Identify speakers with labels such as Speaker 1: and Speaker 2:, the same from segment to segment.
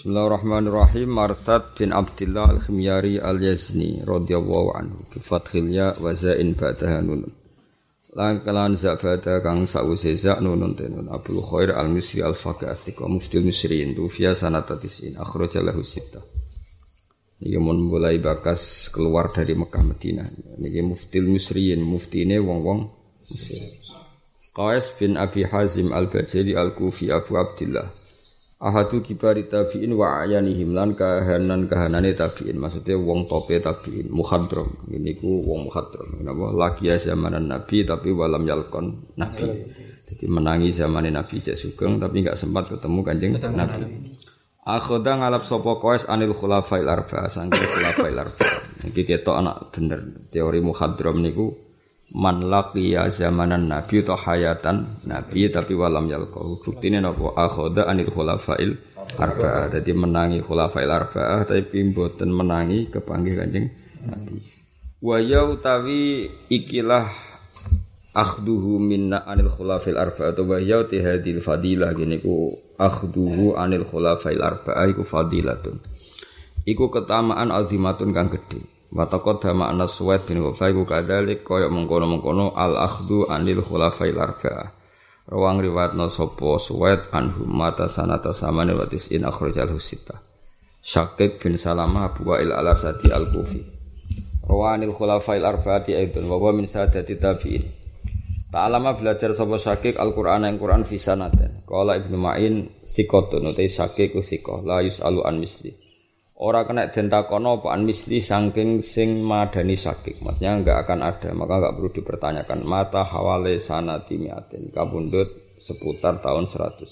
Speaker 1: Bismillahirrahmanirrahim. Marsad bin Abdillah al-Khimyari al-Yazni radhiyallahu anhu bi fathil ya wa zain ba'daha nun. Lan kalan zabada kang sause za nunun tenun Abdul Khair al-Misri al-Faqih as-Siqa muftil Misriin tufiya sanata tisin akhraja lahu sittah. Niki mun mulai bakas keluar dari Mekah Madinah. Niki muftil Misriin, muftine wong-wong Mesir. Qais bin Abi Hazim al-Bajali al-Kufi Abu Abdillah ahadu kibari tabi'in wa ayanihim lan kahanane tabi'in, maksudnya wong tope tabi'in mukhadram. Ini ku wong mukhadram, kenapa? Lagi zamanan Nabi tapi walam yalkon Nabi. Jadi menangi zamane Nabi cek sugeng tapi enggak sempat ketemu Kanjeng Nabi. Akhoda ngalap sapa Qais anil khulafail arba'ah, sangke khulafail arba'ah. Iki ketok anak bener teori mukhadram niku man laqiya zamanan Nabi atau hayatan Nabi tapi walam yalqahu. Buktine napa? Akhoda anil khulafail arba'ah. Dadi menangi khulafail arba'ah tapi mboten menangi kepanggih Kanjeng Nabi. Wa ya utawi ikilah akhduhu minna anil khulafail arba'ah wa ya hadil fadilah gini ku akhduhu anil khulafail arba'ah iku fadilatun. Iku ketamaan azimatun kang gedhe. Watakot dama anas Suwaid bin Ghufay ku kadalik koyok mengkono-mengkono al-akhdu anil khulafail arba'ah. Rawang riwayatna sapa Suwaid anhum mata sanata samane watis in akhrajal husita. Syakik bin Salamah Abu Wa'il al-Asadi al-Kufi. Rawanil khulafail arba'ati aidun wa min sadati tabi'in. Ta'alama belajar sapa Syakik Al-Qur'an yang Qur'an fi sanaten. Qala Ibnu Ma'in sikotun utai Syakik usikoh la yus'alu an misli. Ora kena den takono apa an misli saking sing madani Syakik. Maksudnya enggak akan ada, maka enggak perlu dipertanyakan. Mata hawale sanati miatin kabundut seputar tahun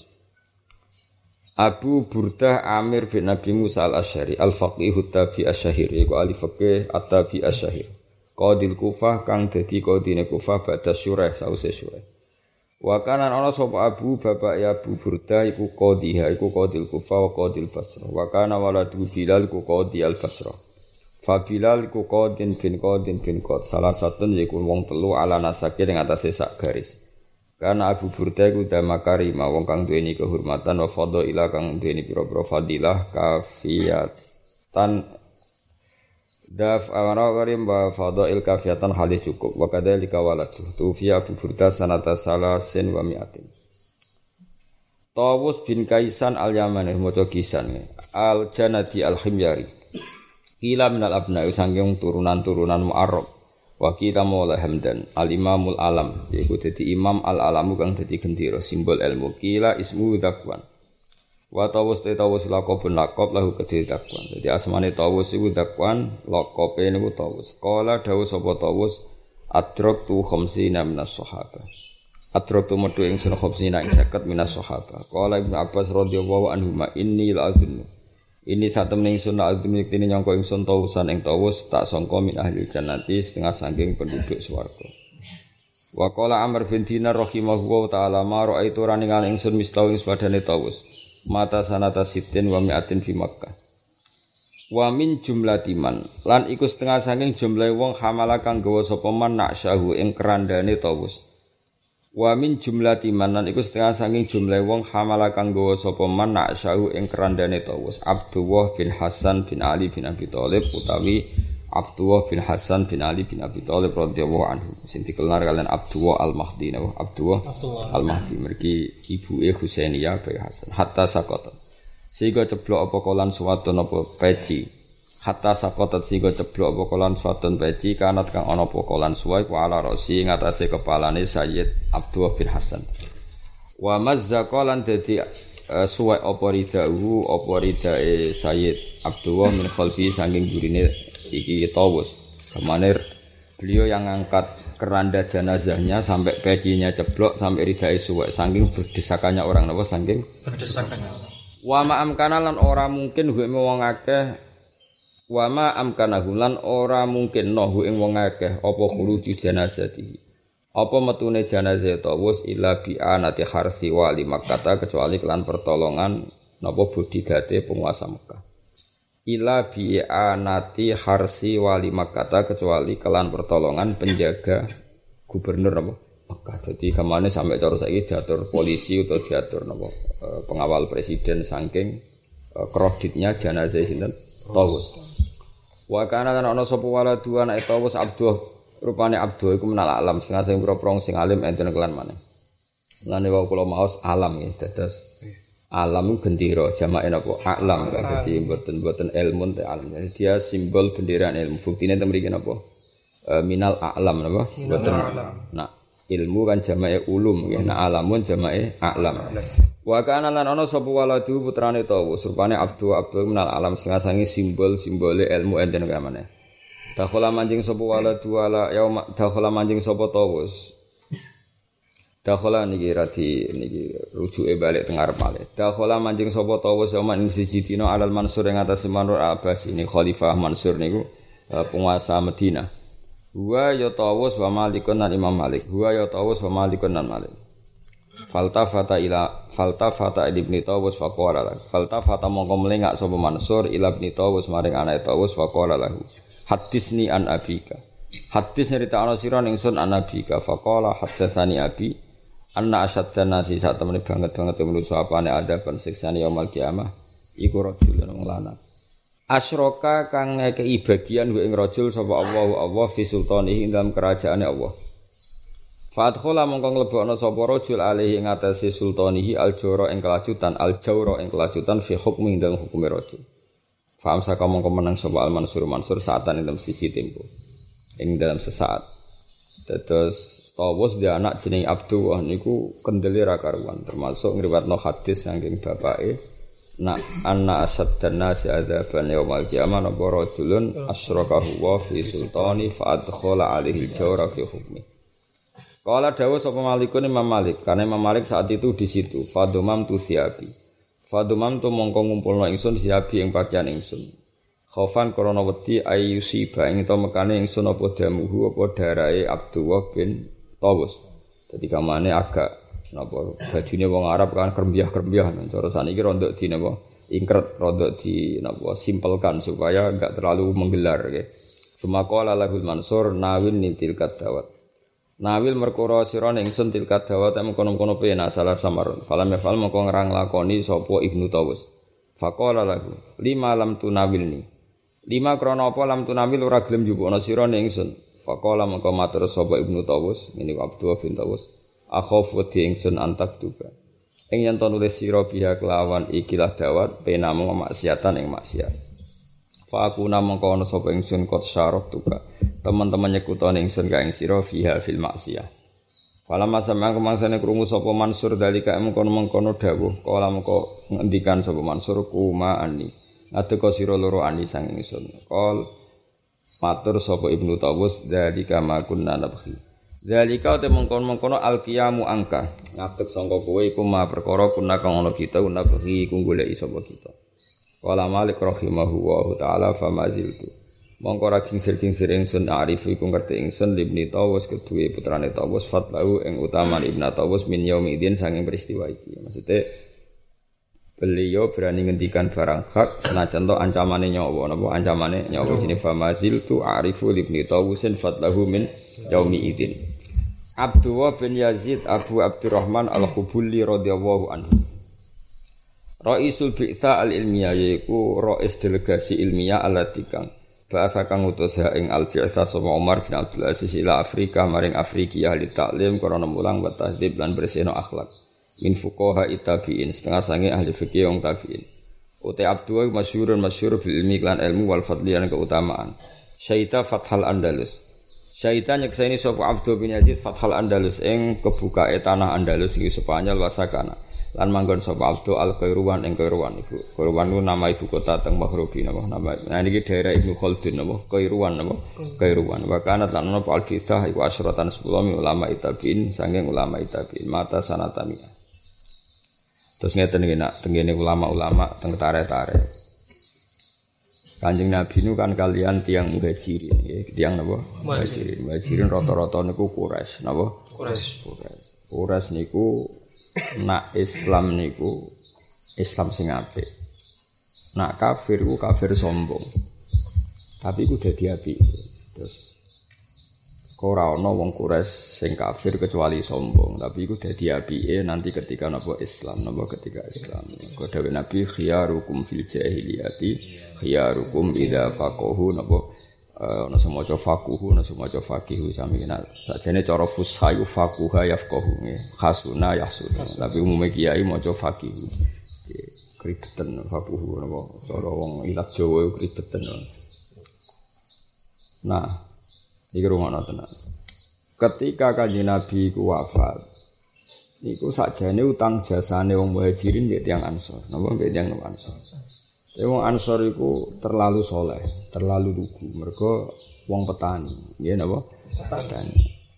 Speaker 1: 100. Abu Burdah Amir bin Nabi Musa al-Asy'ari al-faqih tabi asy-syahir iku ahli fiqih at-tabi asy-syahir. Qadil Kufah kang dadi qadine Kufah ba'da Syurah sause Syurah. Wa kana ana sapa Abu bapak ya Abu Burdah iku qadhiha iku qadil Kufah wa qadil Basrah. Wa kana waladu Bilal iku qadhi al-Basrah. Fa Bilal iku qadin bin qad salah satun iku wong telu ala nasake ing atase sak garis. Karena Abu Burdah iku damakarima wong kang duweni kehormatan wa fadhila kang duweni pira-pira fadilah kafiyatan daf amara karim wa fadail kafiyatan hali cukup wa kadzalika waladu tufiya Abu Burdah sanata salasin wa mi'atin. Tawus bin Kaisan al-Yamani maca Kisan al-Janadi al-Khimyari ila minal abna'i sanging turunan-turunan Mu'arrab wa kita maula Hamdan al-Imamul Alam yaiku dadi imam al-alamu kang dadi gendera simbol ilmu kila ismu Zakwan. Wa tawus laqabun laqab lahu kedhe Zakwan. Jadi asmane tawus iku Zakwan, laqabe niku tawus. Qala dawuh sapa tawus adraktu khamsina minas sahabah. Adraktu metu ingsun khamsina ing 50 minas sahabah. Qala Ibnu Abbas radhiyallahu anhu ma inni la'adunnu. Ini satemene ingsun la'adunnu yektene nyangka ingsun tawusan ing tawus tak sangka min ahli jannati setengah saking penduduk swarga. Wa qala Amr bin Dinar rahimahullahu ta'ala ma ra'aitu raningan ingsun mistau ing padane tawus. Mata sanata sitin wa mi'atin fi Makkah. Wa min jumlatiman lan iku setengah saking jumlah wong hamala kang gawa sapa man naksyahu ing kerandane tawus. Wa min jumlatiman lan iku setengah saking jumlah wong hamala kang gawa sapa man naksyahu ing kerandane tawus. Abdullah bin Hasan bin Ali bin Abi Thalib utawi Abdullah bin Hasan bin Ali bin Abi Thalib radhiyallahu anhu. Sing dikenal kalian Abdullah al-Mahdi napa Abdullah al-Mahdi mergi ibuke Husainiyah bin Hasan. Hatta sakota. Sehingga ceblok apa kolan suwadon apa peci. Hatta sakotat sehingga ceblok apa kolan suwadon peci kanat kang ana apa kolan suwai ku ala rasi ing atase kepalane Sayyid Abdullah bin Hasan. Wa mazzaqalan dadi suwai apa ridahu apa ridae Sayyid Abdullah min khalfi saking gurine iki tawus. Kemana beliau yang angkat keranda jenazahnya sampai pecinya ceblok sampai ridai suwek saking berdesakannya orang napa saking berdesakannya. Wa ma amkana lan ora mungkin hu ing wong akeh wa ma amkana lan ora mungkin no hu ing wong akeh apa khuruji jenazati. Apa metune jenazah tawus illa bi anati harsi wa li Makkah kecuali kelan pertolongan napa budidate penguasa Mekah. Ila bi'anati harsi wali Makkah kecuali kelan pertolongan penjaga gubernur apa Mekah. Jadi kemana sampai cara saiki diatur polisi atau diatur napa pengawal presiden saking kreditnya jenazah sinten Tawus. Wa kana lan ana sapa waladu anak Tawus Abdul rupane Abdul iku menal alam setengah sing pro-pro sing alim enten kelan maneh. Lane wae kula maos alam ya dados alam gendera jamake napa alam dadi mboten ilmu te alam. Jadi dia simbol bendera ilmu. Buktine teng mriki napa minal alam napa mboten. Nah ilmu kan jamake ulum nggih. Nah alamun jamake alam. Wa kana lan ana sapa waladu putrane Tawus rupane Abdul minal alam setengah sangi simbol-simbole ilmu enten kamane. Dakhala manjing sapa waladu ala yauma dakhala manjing sapa Tawus. Dakhala niki rujuke balik teng arep malih. Dakhala manjing sapa Tawus yauma ing siji dina alal Mansur ing atas Manur Abbas ini Khalifah Mansur niku penguasa Madinah. Huwa ya Tawus wa Malikun lan Imam Malik. Huwa ya Tawus wa Malikun lan Malik. Faltafata ibni Tawus faqala lahu. Faltafata mongko melengak sapa Mansur ila ibni Tawus maring anake Tawus faqala lahu. Hadisni an abika. Hadis nyeritakno sira ningsun an abika faqala hadatsani abi anna asyaddan nasi sak temene banget manusa apane adaban siksane yaumul kiamah iku rajulun wong lanang. Asyraka kang ngekeki bagian wa ing rajul sapa Allah fi sultanihi dalam kerajaane Allah. Fadkhala mongko mlebokno sapa rajul alaihi ing atase sultanihi al-jawra ing kelajutan fi hukmi dalam hukume rajul. Faham saka mongko menang sapa al-Mansur saatan ing dalam siji tempo. Ing dalam sesaat. Terus Tawus dia anak jeneng Abdullah niku kendele ra karuan termasuk ngriwatno hadis saking bapake nak anna asaddan nasi adzaban yaumil qiyamah napa rajulun asyrakahu wa fi sultani fa adkhala alaihi al-jawra fi hukmi. Qala dawuh sapa Malikun Imam Malik karena Imam Malik saat itu di situ fadumam tu siabi. Fadumam tu mongko ngumpulno ingsun siabi ing pakaian ingsun. Khaufan krana wedi ayyusiba ing to mekane ingsun apa damuhu apa darahe Abdullah bin Tawus. Jadi kamane agak napa bajune wong Arab kan krembiah-krembiah terus saniki rondok di napa ingkret rondok di napa simpelkan supaya enggak terlalu menggelar nggih. Sumaqala lahul Mansur nawil nitil kadawat. Nawil merkara sira ning ingsun til kadawat mengkono-kono pena salah samarun. Falam yafal mengko ngrang lakoni sapa Ibnu Tawus. Faqala lahu lima lam tunawilni. Lima krana apa lam tunawil ora gelem njupukna sira ning ingsun. Faqala mengko matur sapa Ibnu Tawus ngene Abdullah bin Tawus akhafu di ingsun antak tuba ing yen to nulis sira biha kelawan ikilah dawat pena mung maksiatan ing maksiat fa aku namangka ana sapa ingsun kot syarok tuba teman-teman nyekutane ingsun ka ing sira fiha fil maksiat Falamma sam'a kemangsane krungu sapa Mansur dalika mengkono dawuh kala mengko ngendikan sapa Mansur kuma ani adeka sira loro ani sang ingsun kol matur sapa Ibnu Tawus dalika ma kunna nabghi. Dalika te mengkon-mengkono alqiyamu angka. Ngadeg sangka kowe iku ma perkara kunna kang ana kita nabghi iku goleki sapa kita. Wala Malik rahimahullahu taala famaziltu. Mongko ra kingsir-kingsir ingsun arifu iku ngerti ingsun Ibnu Tawus kedue putrane Tawus fatlahu ing utaman Ibnu Tawus min yaumidin sanging peristiwa iki. Maksudnya beliau berani ngendikan barang hak senajan to ancamane nyawa napa ancamane nyawa jenenge famazil tu arifu ibni Tawusin fatlahu min yaumi idin. Abdullah bin Yazid Abu Abdurrahman Al-Khubuli radhiyallahu anhu. Raisul Bi'tsa al-Ilmiyah yaiku rais delegasi ilmiah alati kang bahasa kang utus ing al-Bi'tsa sapa Umar bin Abdul Aziz ila Afrika maring Afrika ahli taklim krana mulang wa tahdhib lan bersihno akhlak. Min fuqaha tabi'in setengah sange ahli fikih wong tabi'in. Uta Abdullah masyhur bil ilmi lan ilmu wal fadli lan keutamaan. Syaita Fathal Andalus. Syaita nyekseni sapa Abdul bin Yazid Fathal Andalus ing kebukae tanah Andalus iki Spanyol wasakana. Lan manggon sapa Abdul Al-Qairuwan ing Qairuwan iku. Qairuwan nama ibu kota teng Maghribi napa nama. Nah niki daerah Ibnu Khaldun napa Qairuwan napa Qairuwan. Wa kana lan ana al-Bithah iku asyratan 10 ulama tabi'in sanging ulama tabi'in mata sanatami. Terus ngeten iki nak tengene ulama-ulama teng tare-tare. Kanjeng Nabi nu kan kalian tiang muhajirin nggih, tiang napa? Muhajirin. Muhajirin rata-rata niku Quraisy, napa? Quraisy niku nak Islam niku Islam sing apik. Nak kafir ku kafir sombong. Tapi ku dadi apik. Terus ora ana wong Quraisy sing kafir kecuali sombong, tapi iku dadi apike nanti ketika napa Islam, napa ketika Islam. Kok dawuh Nabi khiyarukum fil jahiliyati khiyarukum idza faqahu napa ana semaca faquhu ana semaca faqihu sami kenal. Sajane cara fusha iku faquha yafqahu khasuna yahsuna. Tapi umume kiai maca faqihu. Kribeten faquhu napa cara wong ilat Jawa kribeten. Nah, iki rumono tenan. Ketika Kanjeng Nabi ku wafat, niku sakjane utang jasane wong Muhajirin mbek tiyang Ansor. Napa mbek tiyang Ansor? Wong Ansor iku terlalu soleh, terlalu lugu. Mergo wong petani, nggih napa? Petani.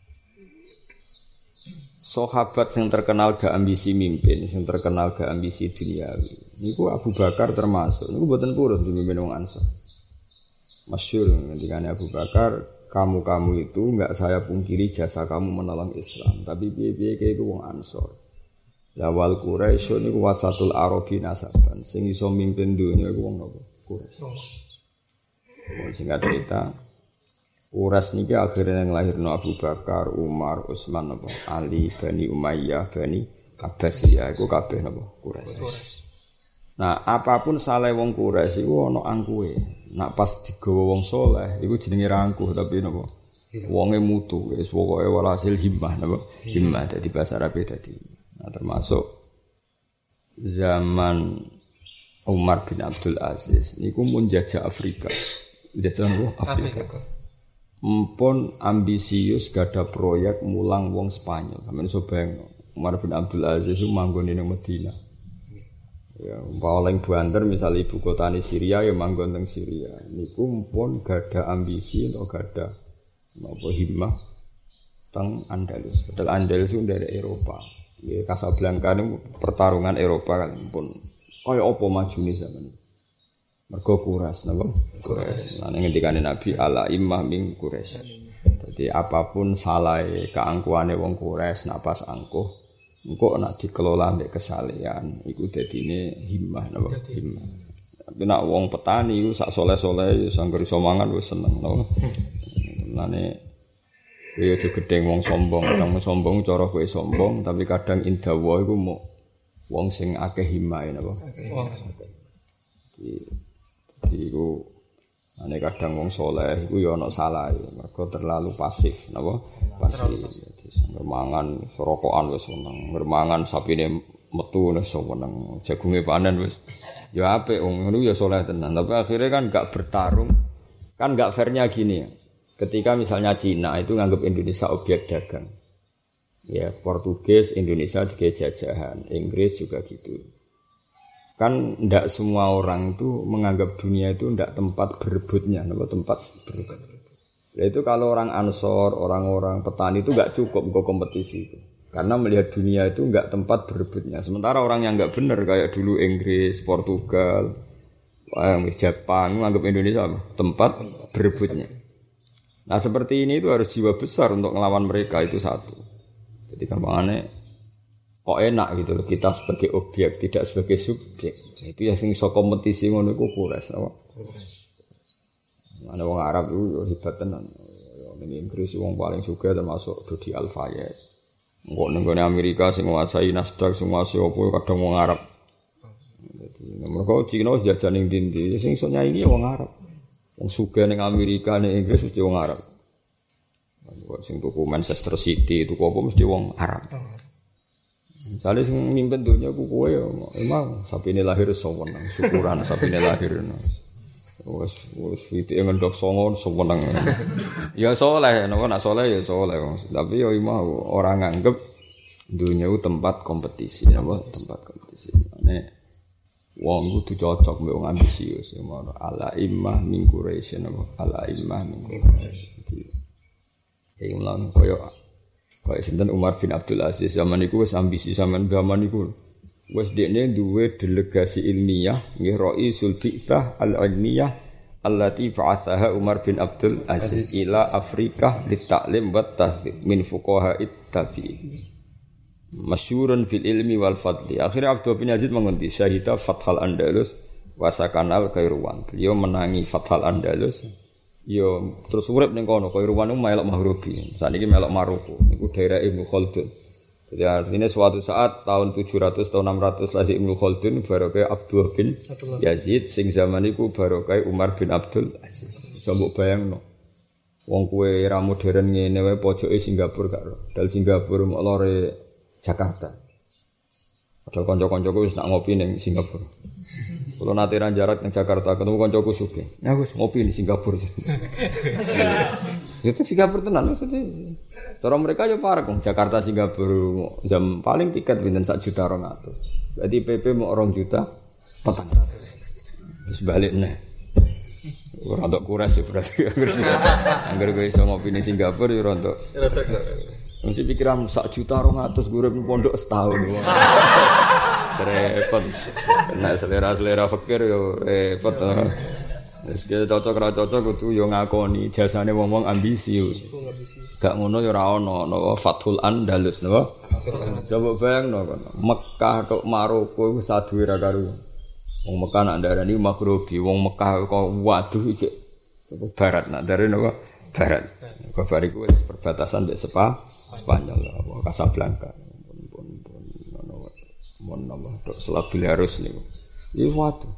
Speaker 1: Sahabat sing terkenal gak ambisi mimpin, sing terkenal gak ambisi duniawi. Niku Abu Bakar termasuk. Niku mboten purun dipimpin wong Ansor. Masyhur ngendikane Abu Bakar, kamu itu enggak saya pungkiri jasa kamu menolong Islam, tapi piye-piye kaya iku wong Ansor. Ya wal Quraisy niku wasatul Arabi nasaban, sing iso mimpin dunya iku wong napa? Quraisy. Singkat cerita, Quraisy niki akhirnya nglahirno Abu Bakar, Umar, Utsman napa? Ali, Bani Umayyah, Bani Abbasiyah iku kabeh napa? Quraisy. Nah, apapun salah wong Quraisy iku ana angkuhe. Nak pas digawa wong saleh iku jenenge rangkuh tapi napa? Wonge mutu, wis pokoke walhasil himmah napa? Himmah dadi bahasa Arab dadi. Nah, termasuk zaman Umar bin Abdul Aziz niku mun jajah Afrika. Jajah Afrika. Mumpun ambisius gada proyek mulang wong Spanyol. Sampeyan iso bayangno, Umar bin Abdul Aziz ku manggon ning Madinah. Ya, paling banter misalnya ibu kota di Syria ya manggon teng Syria. Niku pun gada ambisi atau gada napa himmah teng Andalus. Padahal Andalus itu dari Eropa. Ya Casablanca niku pertarungan Eropa kan pun kaya apa majune zaman. Mergo Quraisy napa? Quraisy. Lan ngendikane Nabi ala immah min Quraisy. Jadi apapun salah keangkuhane wong Quraisy nak pas angkuh engko nek dikelola mbek kesalehan iku dadine himmah napa himmah. Tapi nek wong petani iku sak soleh-soleh ya sangger iso mangan wis seneng napa. Mulane ya aja gedeng wong sombong, kadang sombong cara kowe sombong tapi kadang indawa iku mok wong sing akeh himmah napa. Jadi iku ane kadang wong soleh iku ya ana salah mergo terlalu pasif napa pasif. Mangan sorokokan wis seneng, mangan sapine metu wis seneng, jagunge panen wis ya apik wong ngono ya saleh tenan. Tapi akhirnya kan enggak bertarung. Kan enggak fairnya gini ya. Ketika misalnya Cina itu nganggap Indonesia objek dagang. Ya, Portugis Indonesia juga jajahan, Inggris juga gitu. Kan enggak semua orang itu menganggap dunia itu enggak tempat berebutnya, tempat berebut. Itu kalau orang Ansor, orang-orang petani itu enggak cukup ke kompetisi itu. Karena melihat dunia itu enggak tempat berebutnya. Sementara orang yang enggak benar kayak dulu Inggris, Portugal, Jepang menganggap Indonesia apa? Tempat berebutnya. Nah seperti ini itu harus jiwa besar untuk melawan mereka itu satu. Jadi gampangannya kok enak gitu loh kita sebagai objek tidak sebagai subjek. Itu ya sing iso kompetisi ngono iku Quraisy apa? Ana wong Arab itu hebat tenan. Ning Inggris wong paling sugih termasuk Dodi Al-Fayed. Engko ning Amerika sing nguasai Nasdaq sing nguasai opo kadang wong Arab. Dadi mergo Cina jajan ning ndi-ndi sing iso nyaingi wong Arab. Wong sugih ning Amerika ning Inggris mesti wong Arab. Sing tuku Manchester City tuku apa mesti wong Arab. Misalnya sing mimpin dunia ku kowe ya emang sapine lahir seneng syukuran sapine lahir. Wes iki ngendok songon seneng. Ya saleh, nek saleh ya saleh. Tapi ya mau orang nganggep dunia itu tempat kompetisi, apa tempat kompetisi. Nek wong kudu cocok mbek wong ambisius ya ngono. Ala immah min Quraisy apa ala immah min Quraisy. Ya lan koyo sinten Umar bin Abdul Aziz zaman iku wis ambisi zaman iku. Wes dekne duwe delegasi ilmiah nggih Raisul Bi'tsah al-Ilmiyah allati ba'athaha Umar bin Abdul Aziz ila Afrika litaklim wa tahdzib min fuqaha'it tabi'in masyhurun fil ilmi wal fadli. Akhirnya Abdul bin Aziz mengundi syahida Fathal Andalus wa sakanal Kairuan. Beliau menangi Fathal Andalus Yo terus urip ning kono Kairuan niku melok Mahrubi. Saniki melok Maroko. Niku daerah Ibnu Khaldun. Jadi artinya suatu saat tahun 700 atau 600 Lazim Ibnu Khaldun barokah Abdullah bin Yazid sing zaman iku barokah Umar bin Abdul Aziz. Coba bayangno. Wong kowe era modern ngene wae pojoke Singapura gak ro. Dal Singapura mok lore Jakarta. Padahal kanca-kancaku wis nak ngopi ning Singapura. Kalau nanti jarak di Jakarta ketemu kancaku sugih. Aku ngopi di Singapura. Itu Singapura tenan maksudnya. Cara mereka ya parek Jakarta Singapura jam paling tiket pinten 1.200.000. Berarti PP mau 2.400.000. Terus balik neh. Ora untuk kuras ya berarti. Angger kowe iso ngopi di Singapura ya ora untuk. Mesti pikiran 1.200.000 gue urip pondok setahun. Repot. Nek selera fikir yo repot. Wis cocok ra cocok kudu yo ngakoni jasane wong-wong ambisius. Gak ngono yo ora ono napa Fathul Andalus napa. Coba bayangno kono. Mekah tok Maroko iku saduwe ra karo. Wong Mekah nak ndarani Maghribi, wong Mekah kok waduh iki barat nak ndarani napa barat. Kok bariku wis perbatasan mbek Spanyol apa Casablanca. Mon nama tok Selabil harus niku. Iki waduh.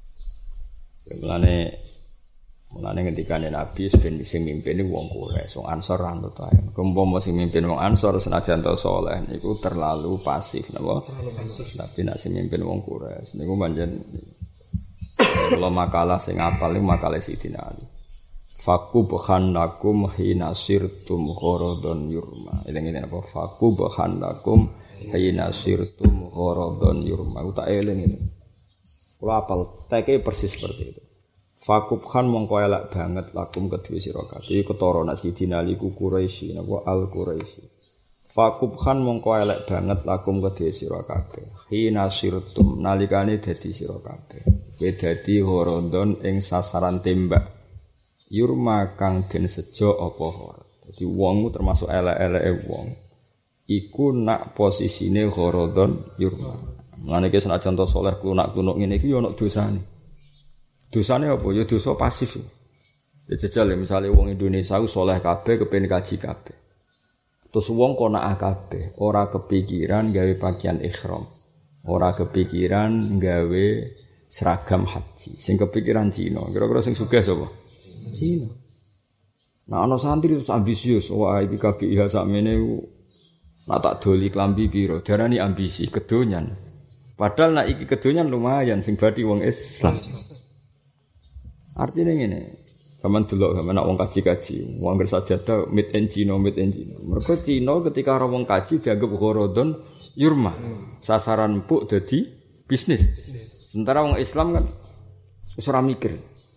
Speaker 1: Mulane ngendikane Nabi ben sing mimpin niku wong Quraisy, wong Ansor anut ae. Umpama sing mimpin wong Ansor senajan to saleh niku terlalu pasif napa? Terlalu pasif. Tapi nek sing mimpin wong Quraisy niku pancen kula makalah sing apal niku makalah Sidina Ali. Fakubhan lakum hina sirtum gharadun yurma. Eling-eling apa? Fakubhan lakum hina sirtum gharadun yurma. Utak eling ini. Kula apal teke persis seperti itu. Fakubhan mongko elak banget lakum kedue sira kabeh. Ketara nak Sidina Ali ku Quraisy napa Al Quraisy. Fakubhan mongko elak banget lakum kedue sira kabeh. Hina sirtum nalikane dadi sira kabeh. Kowe dadi gharadun ing sasaran tembak. Yurma kang den sejo apa hor. Dadi wong termasuk elek-eleke wong. Iku nak posisine gharadun yurma. Mulane ki senajan to saleh klunak-klunuk ngene iki yo ana dosane. Dosane apa? Ya dosa pasif. Ya jajal misale wong Indonesia ku saleh kabeh kepen kaji kabeh. Terus wong kok nak kabeh ora kepikiran gawe pakaian ihram. Ora kepikiran gawe seragam haji. Sing kepikiran Cina. Kira-kira sing sugih sapa? Cina. Nah ana santri terus ambisius, wah iki KBIH sakmene nak tak doli klambi piro, darani ambisi kedonyan. Padahal nak iki kedonyan lumayan sing badi wong Islam. Artine ngene, sampean delok sampean nak wong kaji-kaji, wong sajadah made in Cina. Mergo Cina ketika ora wong kaji dianggap gharadun yurma. Sasaran empuk dadi bisnis. Sementara wong Islam kan wis ora mikir.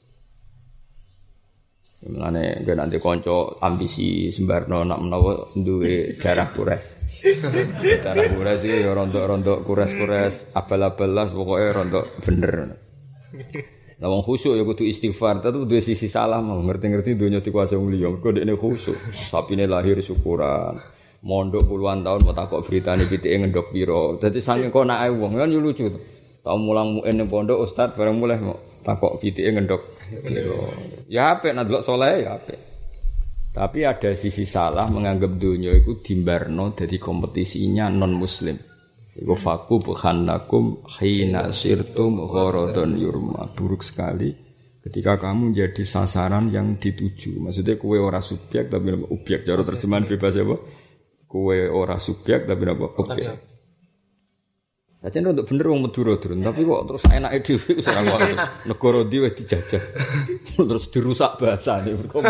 Speaker 1: Mulane gue nanti konco ambisi sembarno nak menawa duwe darah Quraisy. Darah Quraisy iki ya rontok-rontok Quraisy abal-abalas pokoke rontok bener. Lah wong khusyuk ya kudu istighfar, tapi duwe sisi salah mau ngerti-ngerti donya dikuasai wong liya. Mergo dekne khusyuk, sapine lahir syukuran. Mondok puluhan tahun mau takok beritane pitike ngendok piro. Dadi saking konake wong kan yo lucu. Tau mulang muin ning pondok ustaz bareng mulai mau takok pitike ngendok piro. Ya apik nek delok saleh ya apik. Tapi ada sisi salah menganggap dunia itu dimbarno dadi kompetisinya non muslim. Iku faku bukhanakum hina sirtum gharadun yurma. Buruk sekali ketika kamu jadi sasaran yang dituju. Maksudnya kowe ora subjek tapi objek. Cara terjemahan bebas apa? Kowe ora subjek tapi apa? Objek. Sajane untuk bener wong Madura durun, tapi kok terus enake dhewe wis ora ngono. Negara ndi wis dijajah. Terus dirusak bahasane berkomunikasi.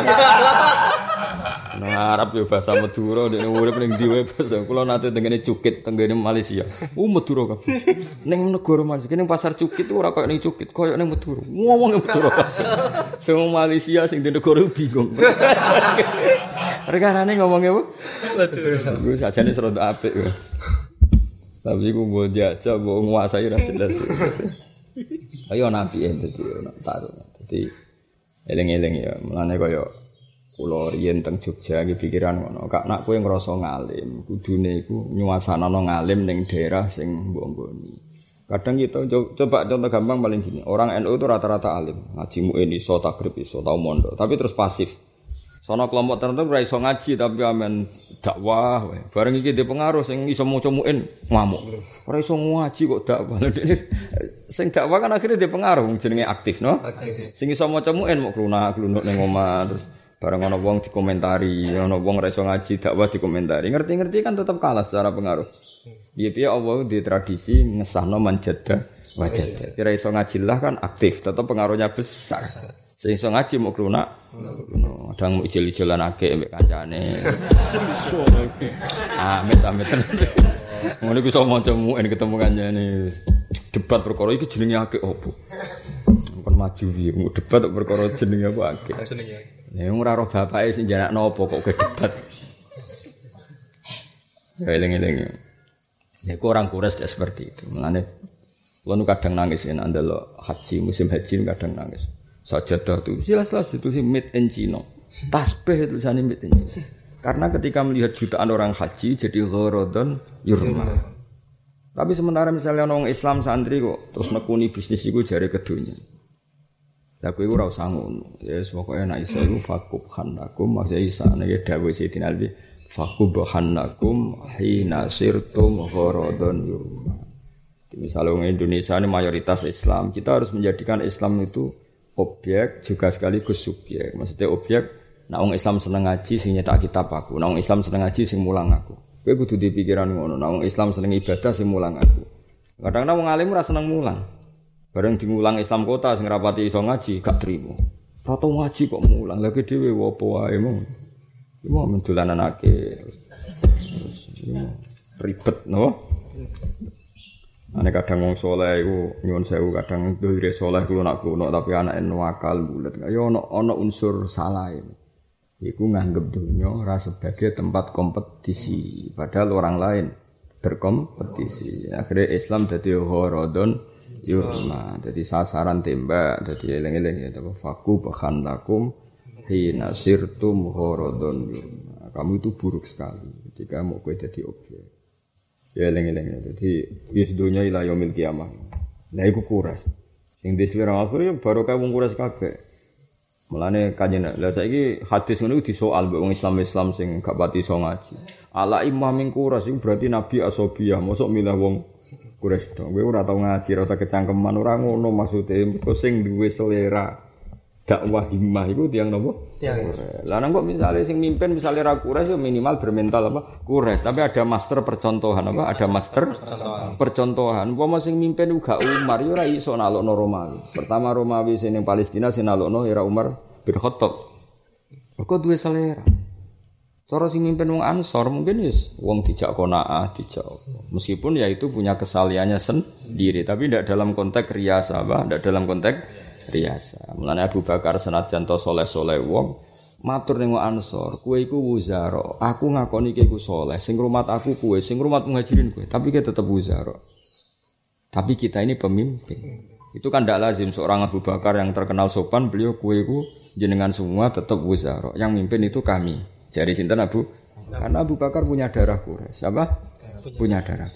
Speaker 1: Nah, Arab yo bahasa Madura nek urip ning ndi wae bahasa. Kula nate tengene Cukit, tengene Malaysia. Madura kabeh. Ning negara Malaysia, ning pasar Cukit ora koyo ning Cukit, koyo ning Madura. Ngomong Madura kabeh. Sing Malaysia sing di negara bingung. Rekanane ngomongnya apa? Madura. Wis sajane serontok apik kowe. Tapi aku mau diajak, mau nguasai rasa jelas. Ayo nabi dadi taruh. Dadi eling-eling ya. Mulane kaya kula riyen teng Jogja iki pikiran ngono. Kak nak kowe ngrasa ngalim, kudune iku nyuasanana ngalim ning daerah sing mbok nggoni. Kadang kita coba contoh gampang paling gini, orang NU itu rata-rata alim, ngaji muin iso, takrib iso, tau mondok, tapi terus pasif. Sono kelompok tertentu ora iso ngaji tapi amen dakwah, bareng iki dhe pengaruh sing iso maca muin ngamuk. Ora iso ngaji kok dakwah. Sing dakwah kan akhirnya dhe pengaruh jenenge aktif, no? Sing iso maca muin mok klunak-klunuk ning omah terus bareng ana wong dikomentari, ana wong ora iso ngaji dakwah dikomentari. Ngerti-ngerti kan tetap kalah secara pengaruh. Piye-piye Allah di tradisi ngesahno manjada wajada. Kira iso ngaji lah kan aktif, tetap pengaruhnya besar. Sing iso ngaji mau klunak, kadang mau ijil-ijilan akeh mbek kancane. Amit-amit. Ngono iku iso maca muin ketemu kancane. Debat perkara iki jenenge akeh opo? Kon maju piye? Debat perkara jenenge apa akeh? Jenenge. Ya ora roh bapake sing jarakno opo kok ke debat. Ya eling-eling. Ya orang Quraisy tidak seperti itu. Mulane kula nu kadang nangis yen andel haji, musim haji kadang nangis. Sajadah itu jelas-jelas ditulis made in China. Tasbih tulisannya made in China. Karena ketika melihat jutaan orang haji jadi gharadun yurma. Tapi sementara misalnya orang Islam santri kok terus nekuni bisnis iku jare kedunya. Lah kowe ora usah ngono. Ya pokoke nek iso iku fakub khanakum maksa isa nek dawuh Sayyidina Ali fakubahannakum hina sirtum gharadun yurma. Misalnya orang Indonesia ini mayoritas Islam, kita harus menjadikan Islam itu objek juga sekaligus subjek. Maksudnya objek, nah orang Islam seneng ngaji sing nyetak kitab aku, nah orang Islam seneng ngaji sing mulang aku. Kowe kudu di pikiran ngono, nah orang Islam seneng ibadah sing mulang aku. Kadang-kadang wong alim ora seneng mulang. Bareng dimulang Islam kota sing rapati iso ngaji gak trimo. Ora tau ngaji kok mulang, lha dhewe opo wae mong. Iku mendolananake. Terus ribet no. Ane kadang wong saleh iku nyuwun sewu kadang dohire saleh kulo nak kuno tapi anake nuwakal bulet. Ya ana unsur salah. Iku nganggep donya ora sebagai tempat kompetisi, padahal orang lain berkompetisi. Akhirnya Islam dadi gharadun yurma, dadi sasaran tembak, dadi eling-eling ya faku bahan lakum hina sirtum gharadun yurma. Kamu itu buruk sekali ketika mau kowe dadi objek. Ya eling-eling dadi wis donya ila yaumil kiamah. Lah iku kuras. Sing diselera akhir ya barokah wong kuras kabeh. Mulane kanjeng lha saiki hadis ngono disoal mbek wong Islam sing gak pati iso ngaji. Ala imam ming kuras iku berarti nabi asobiyah, mosok milah wong kuras to. Kowe ora tau ngaji, ora usah kecangkeman, ora ngono maksude. Mergo sing duwe selera dakwah himmah iku tiyang napa? Tiyang. Lah nang kok misale sing mimpin misale ra kuras ya minimal bermental apa? Kuras, tapi ada master percontohan apa? Ada master percontohan. Umpama sing mimpin uga Umar ya ora iso nalokno Romawi. Pertama Romawi sing ning Palestina sing nalokno era Umar bin Khattab. Kok duwe selera. Cara sing mimpin wong Ansor mungkin wis wong dijak qanaah, dijak. Meskipun ya itu punya kesaliannya sendiri, tapi tidak dalam konteks riasa, apa? Tidak dalam konteks riasa. Mulane Abu Bakar senajan to saleh-saleh wong matur ning Ansor, kowe iku wuzara. Aku ngakoni kowe iku saleh, sing rumat aku kowe, sing rumat muhajirin kowe, tapi kowe tetep wuzara. Tapi kita ini pemimpin. Itu kan tidak lazim seorang Abu Bakar yang terkenal sopan, beliau kowe iku jenengan semua tetep wuzara. Yang mimpin itu kami. Jari sinten Abu? Karena Abu Bakar punya darah Quraisy. Apa? Punya darah.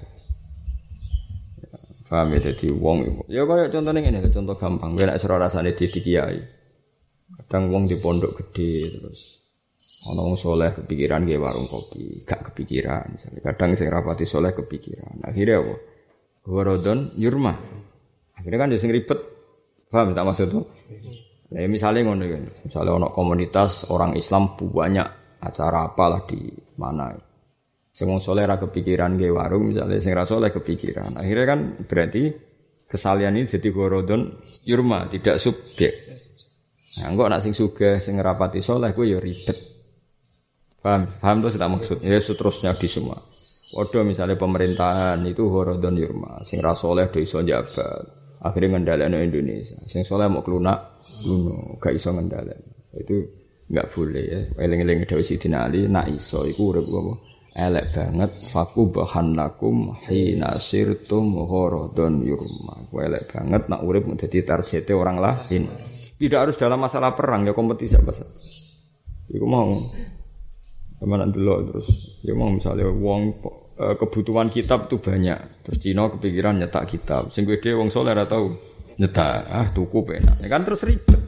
Speaker 1: Paham ya, jadi wong iku. Ya kaya contohnya ngene, contoh gampang. Kowe nek sira rasane dadi kiai. Kadang wong di pondok gede terus ana wong saleh kepikiran gawe warung kopi, gak kepikiran misalnya. Kadang sing rapati saleh kepikiran. Akhirnya apa? Gharadun yurma. Akhirnya kan sing ribet. Paham tak maksudku? Ya misalnya ngono kan. Misalnya ana komunitas orang Islam banyak acara apalah di mana. Sing wong saleh ra kepikiran gawe warung misalnya sing ra saleh kepikiran. Akhirnya kan berarti kesalian ini jadi gharadun yurma, tidak subjek. Nah, engko nek sing sugih sing ngrapati saleh kuwi ya ribet. Paham to tak maksud. Ya seterusnya di semua. Waduh misalnya pemerintahan itu gharadun yurma, sing ra saleh do iso njabat. Akhirnya ngendhalekno Indonesia. Sing saleh mau klunak, gak iso ngendhalekno. Itu enggak boleh ya. Eling-eling dawuh Sidina Ali, nak iso iku urip apa? Elek banget fakubahan lakum hina sirtum gharadun yurma. Elek banget nak urip dadi targete orang lain. Tidak harus dalam masalah perang ya kompetisi apa saja. Iku mau kemana dulu terus. Ya mau misalnya wong kebutuhan kitab itu banyak. Terus Cina kepikiran nyetak kitab. Sing gede wong saleh ora tau nyetak. Tuku penak. Ya kan terus ribet.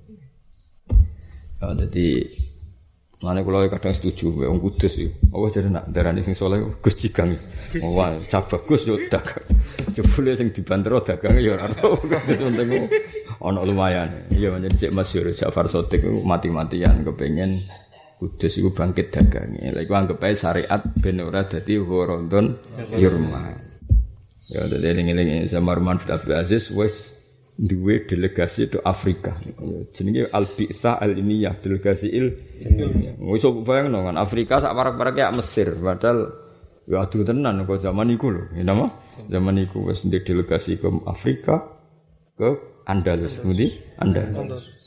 Speaker 1: Jadi mana kalau kadang setuju, wong kudus itu. Oh jadi nak darani sing saleh Gus Jigang. Wah, cah bagus yo dagang. Jebule sing dibantero dagang ya ora tau. Penting ana lumayan. Iya menjadi Cek Masyhur Ja'far Shadiq mati-matian kepengin kudus iku bangkit dagange. Lha iku anggap ae syariat ben ora dadi Ramadan Yurma. Ya dadi eling-eling sama Marwan bin Abdul Aziz wis duwe delegasi ke Afrika. Jenenge Al-Bi'tsah Al-Ilmiyah, delegasi ilmiah. Wis bayangno kan Afrika sak parek-parek kayak Mesir, padahal ya adu tenan kok zaman iku lho. Ya napa? Zaman iku wis ndek delegasi ke Afrika ke Andalus, ngendi? Andalus.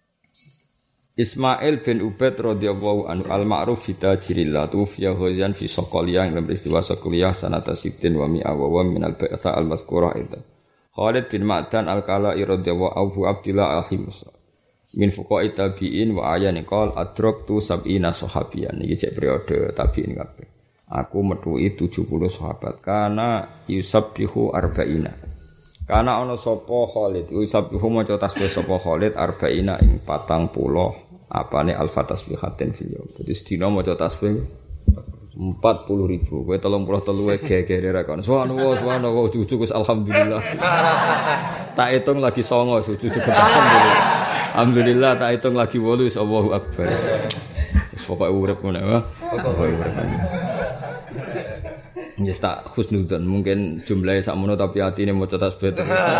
Speaker 1: Ismail bin Ubaid radhiyallahu anhu al-ma'ruf fi tajirillah tufiya ghazan fi Soqaliyah dalam peristiwa Soqaliyah sanata sittin wa mi'a wa min al-ba'tha al-mazkurah itu. Khalid bin Ma'dan al-Kala'i radhiyallahu Abu Abdullah al-Himus min fuqa'i tabi'in wa ayani qol adraktu sab'ina sahabiyan iki cek periode tabi'in kabeh. Aku metuhi 70 sahabat kana yusabbihu arba'ina. Kana ana sapa Khalid yusabbihu maca tasbih sapa Khalid arba'ina ing 40 apane alfa tasbihatin fil yaum. Dadi sedina maca tasbih 40.000. Kowe 33 gegere ra kon. Subhanallah, cucu Gus alhamdulillah. Tak hitung lagi 9 cucu alhamdulillah. Alhamdulillah tak hitung lagi 8 Allahu akbar. Wis pokoke urip ngono ya. Pokoke urip. Yes tak husnudzon mungkin jumlahe sakmono tapi atine maca tasbih.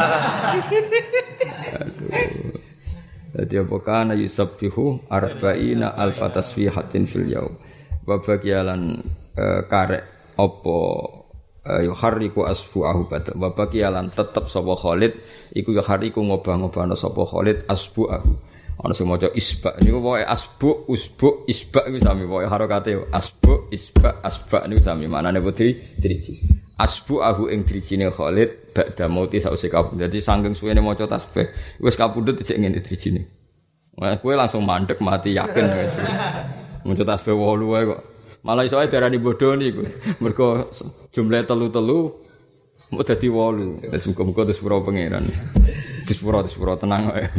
Speaker 1: Jadi apa kana yusabbihu arba'ina alfa tasbihatin fil yaum. Babagialan karek apa yuharriku asbu'ahu bata. Babagialan tetep sapa Khalid iku yuharriku ngobah-ngobahna sapa Khalid asbu'ahu. Ana sing maca isba niku pokoke asbu usbu isba iku sami pokoke harokate asbu isba asba niku sami manane putri driji. Asbu'ahu ing drijine Khalid ba'da mauti sause kabudut. Dadi saking suwene maca tasbih wis kabudut dicek ngene drijine. Wah kowe langsung mandek mati yakin wis. Maca tasbih 8 wae kok. Malah iso ae darani bodho niku. Mergo jumlahe 3 mau dadi 8. Wis muga-muga disepuro pangeran. Disepuro tenang wae.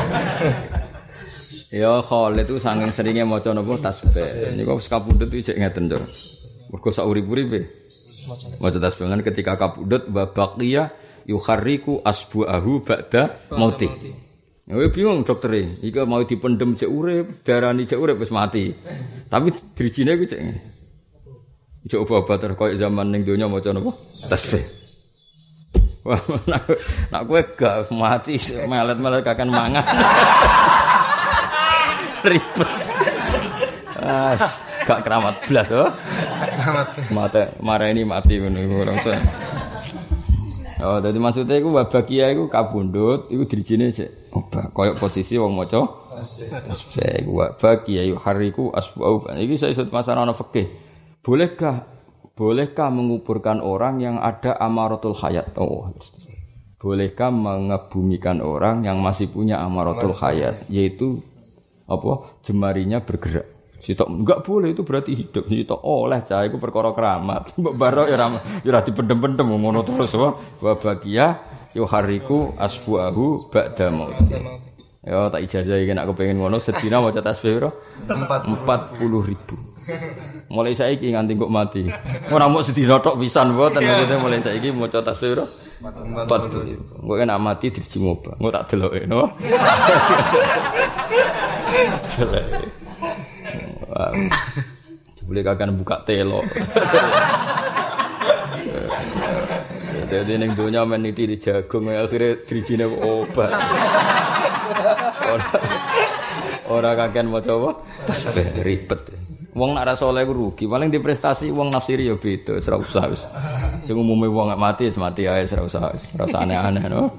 Speaker 1: Ya Khalid itu saking seringnya maca napa tasbih. Niku wis kabudut iki cek ngeten to. Mergo sak urip-uripe maca tasbih kan ketika kabudut wa baqiya yukharriku asbu'ahu ba'da mauti. Ya bingung dokter iki mau dipendem cek urip, darani cek urip wis mati. Tapi drijine ku cek. Cek obat koyo zaman ning donya maca napa? Tasbih. Wah, nak kowe gak mati melet-melet kakan mangan. Ribet. Gak keramat blas oh. Keramat. Mareni mati ngono langsung. Oh, dadi maksudnya iku wabakia iku kabundut, iku dirijine cek obah koyo posisi wong maca tasbih iku wabakia yuhariku asbau. Iki saya isut masalah ana fikih. Bolehkah menguburkan orang yang ada amaratul hayat? Oh. Bolehkah mengebumikan orang yang masih punya amaratul hayat, yaitu apa? Jemarinya bergerak. Sitok enggak boleh itu berarti hidup. Sitok oleh cah iku perkara keramat. Mbok barok ya ora dipendem-pendem ngono terus wa bagia yuhariku asbuahu ba'da maut. Ya tak ijazah iki nek kepengin ngono sedina maca tasbih piro? 40.000. Mulai saiki nganti kok mati. Ora mok sedina tok pisan mboten maksudnya mulai saiki maca tasbih piro? 40.000. Engko nek mati driji ngobah. Engko tak deloke no. Jelek. Boleh kakak buka telo. Jadi neng dunia meniti di jagung akhirnya drijine obat. Orang kakek mau coba, tasbih ribet. Wong nak rasa oleh rugi, paling di prestasi wong nafsiri ya beda, ora usah wis. Sing umume wong gak mati wis mati ae ora usah aneh-aneh no.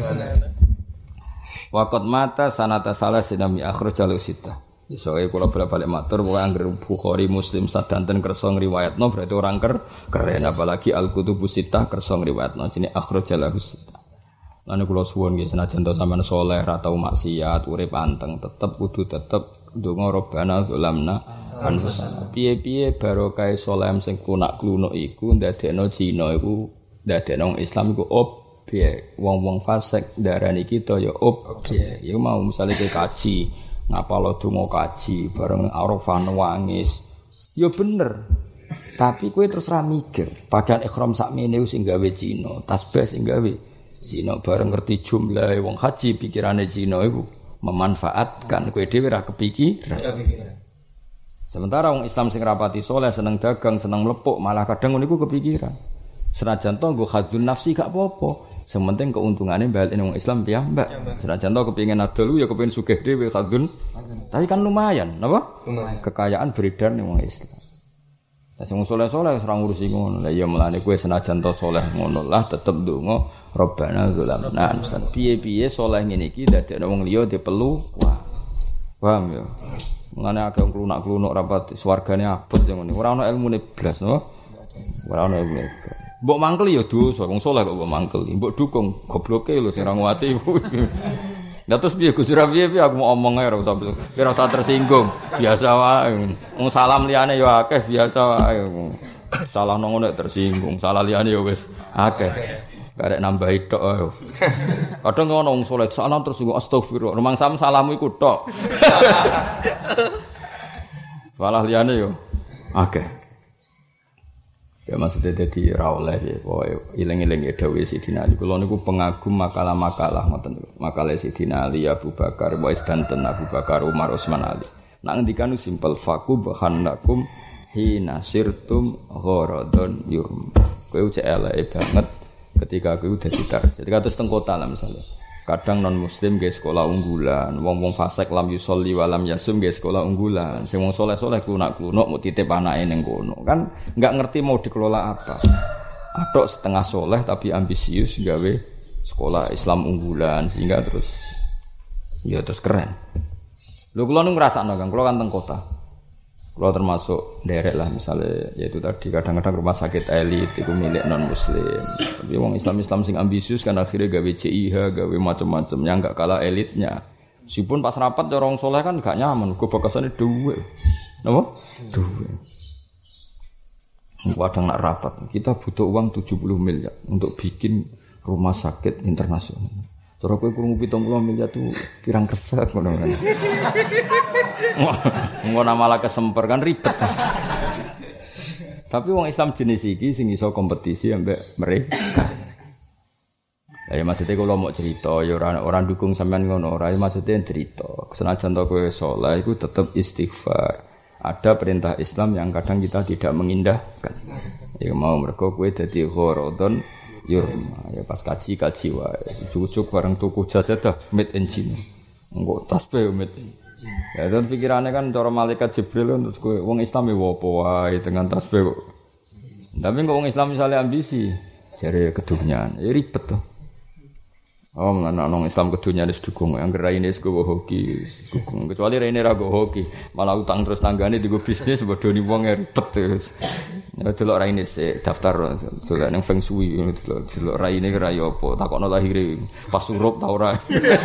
Speaker 1: Waqat mata sanata salasin mi akhrajalu sita. Soale kula balik matur pokoke anggere Bukhari Muslim sadanten kersa ngriwayatno berarti orang keren apalagi Al-Kutubus Sittah kersa ngriwayatno sini akhrajalahu sita. Lan kula suwun nggih senajan to sampean saleh ra tau maksiat urip anteng tetep kudu tetep ndonga Rabbana zalamna anfusana. Piye-piye barokah saleh sing klunak-klunuk iku ndadekno Cina iku ndadekno Islam iku objek. Wong-wong fasik darani kita ya objek. Ya mau misale kaji, ngapalo donga kaji bareng Arafah nangis. Ya bener. Tapi kowe terus ra mikir, pakaian ihram sakmene sing gawe Cina, tasbih sing gawe Cina bareng ngerti jumlah wong haji pikirane Cina iku memanfaatkan kowe dhewe ra kepikiran. Sementara wong Islam sing rapati saleh seneng dagang, seneng mlepuk, malah kadang ngono iku kepikiran. Senajan to nggo khadzun nafsi gak apa-apa. Sementing keuntungannya balik wong Islam piyambak. Senajan to kepengin adol ya kepengin sugih dhewe khadzun. Tapi kan lumayan, napa? Kekayaan beredar ning wong Islam. Lah sing saleh-saleh ora ngurusi ngono. Lah ya mulane kowe senajan to saleh ngono lah tetep ndonga Rabbana zalamna anfusana. Piye-piye saleh ngene iki dadekno wong liya dipelu. Wah. Paham ya? Mulane akeh klunak-klunuk rapat swargane abot yang ngene. Ora ana ilmune blas, no? Ora ana ilmune. Mbok mangkel ya dosa, wong saleh kok mbok mangkel. Mbok dukung gobloke lho sing ra nguwati. Lah terus piye Gus piye aku mau omong ae ora usah tersinggung. Biasa wae. Wong salam liyane ya akeh biasa wae. Salah nang ngono tersinggung, salah liyane ya wis akeh. Karek nambahi tok ae. Kadang ngono wong saleh salam terus astagfirullah. Rumang sam salamu iku tok. Salah liyane yo akeh. Ya maksudnya dadi ra oleh ya pokoke iling-iling ya dawuh Sidina Ali. Kula niku pengagum makalah-makalah ngoten niku. Makalah Sidina Ali, Abu Bakar, Wais danten Abu Bakar, Umar, Utsman Ali. Nak ngendikan simpel faqub khannakum hina sirtum gharadun yurm. Kowe cek eleke banget ketika kowe dadi tar. Jadi kados teng kota lah misalnya. Kadang non muslim nggih sekolah unggulan, wong-wong fasik lam yusolli wa lam yasum nggih sekolah unggulan. Sing wong saleh-saleh klunak-klunuk mau titip anake ning kono. Kan enggak ngerti mau dikelola apa. Atok setengah saleh tapi ambisius gawe sekolah Islam unggulan sehingga terus ya terus keren. Lho kula nu ngrasakno Kang, kula kan teng kota. Kula termasuk derek lah misalnya yaitu tadi kadang-kadang rumah sakit elit itu milik non muslim. Tapi wong Islam sing ambisius kan akhirnya gawe CIH, gawe macam-macam yang enggak kalah elitnya. Meskipun pas rapat orang soleh kan enggak nyaman, kok bakasane duwe. Napa? Duwe. Kadang nak rapat, kita butuh uang 70 miliar untuk bikin rumah sakit internasional. Cara kowe krungu 70 miliar tuh pirang kesek ngono kan. Ngono malah kesemper kan ribet. Tapi wong Islam jenis iki sing iso kompetisi ambek mereka. Ya maksudnya kalau mau cerita ya orang dukung sampean ngono ora maksudnya cerita. Senajan to kowe saleh iku tetep istighfar. Ada perintah Islam yang kadang kita tidak mengindahkan. Ya mau mergo kowe dadi gharadun yurma. Ya pas kaji wae. Cucuk bareng tuku jajadah made in China. Engko tasbih made in. Ya dan pikirannya kan cara malaikat Jibril kan terus kowe wong Islam ya apa wae dengan tasbih kok. Tapi kok wong Islam misalnya ambisi jare kedunyan, ya ribet to. Oh, anak nong Islam kedunya wis dukung, yang raine wis go hoki, dukung. Kecuali raine ra go hoki, malah utang terus tanggane digo bisnis bodoni wong ribet terus. Ya delok raine sik daftar delok ning feng shui ngono delok raine ra yo apa, takokno lahire pas surup ta ora.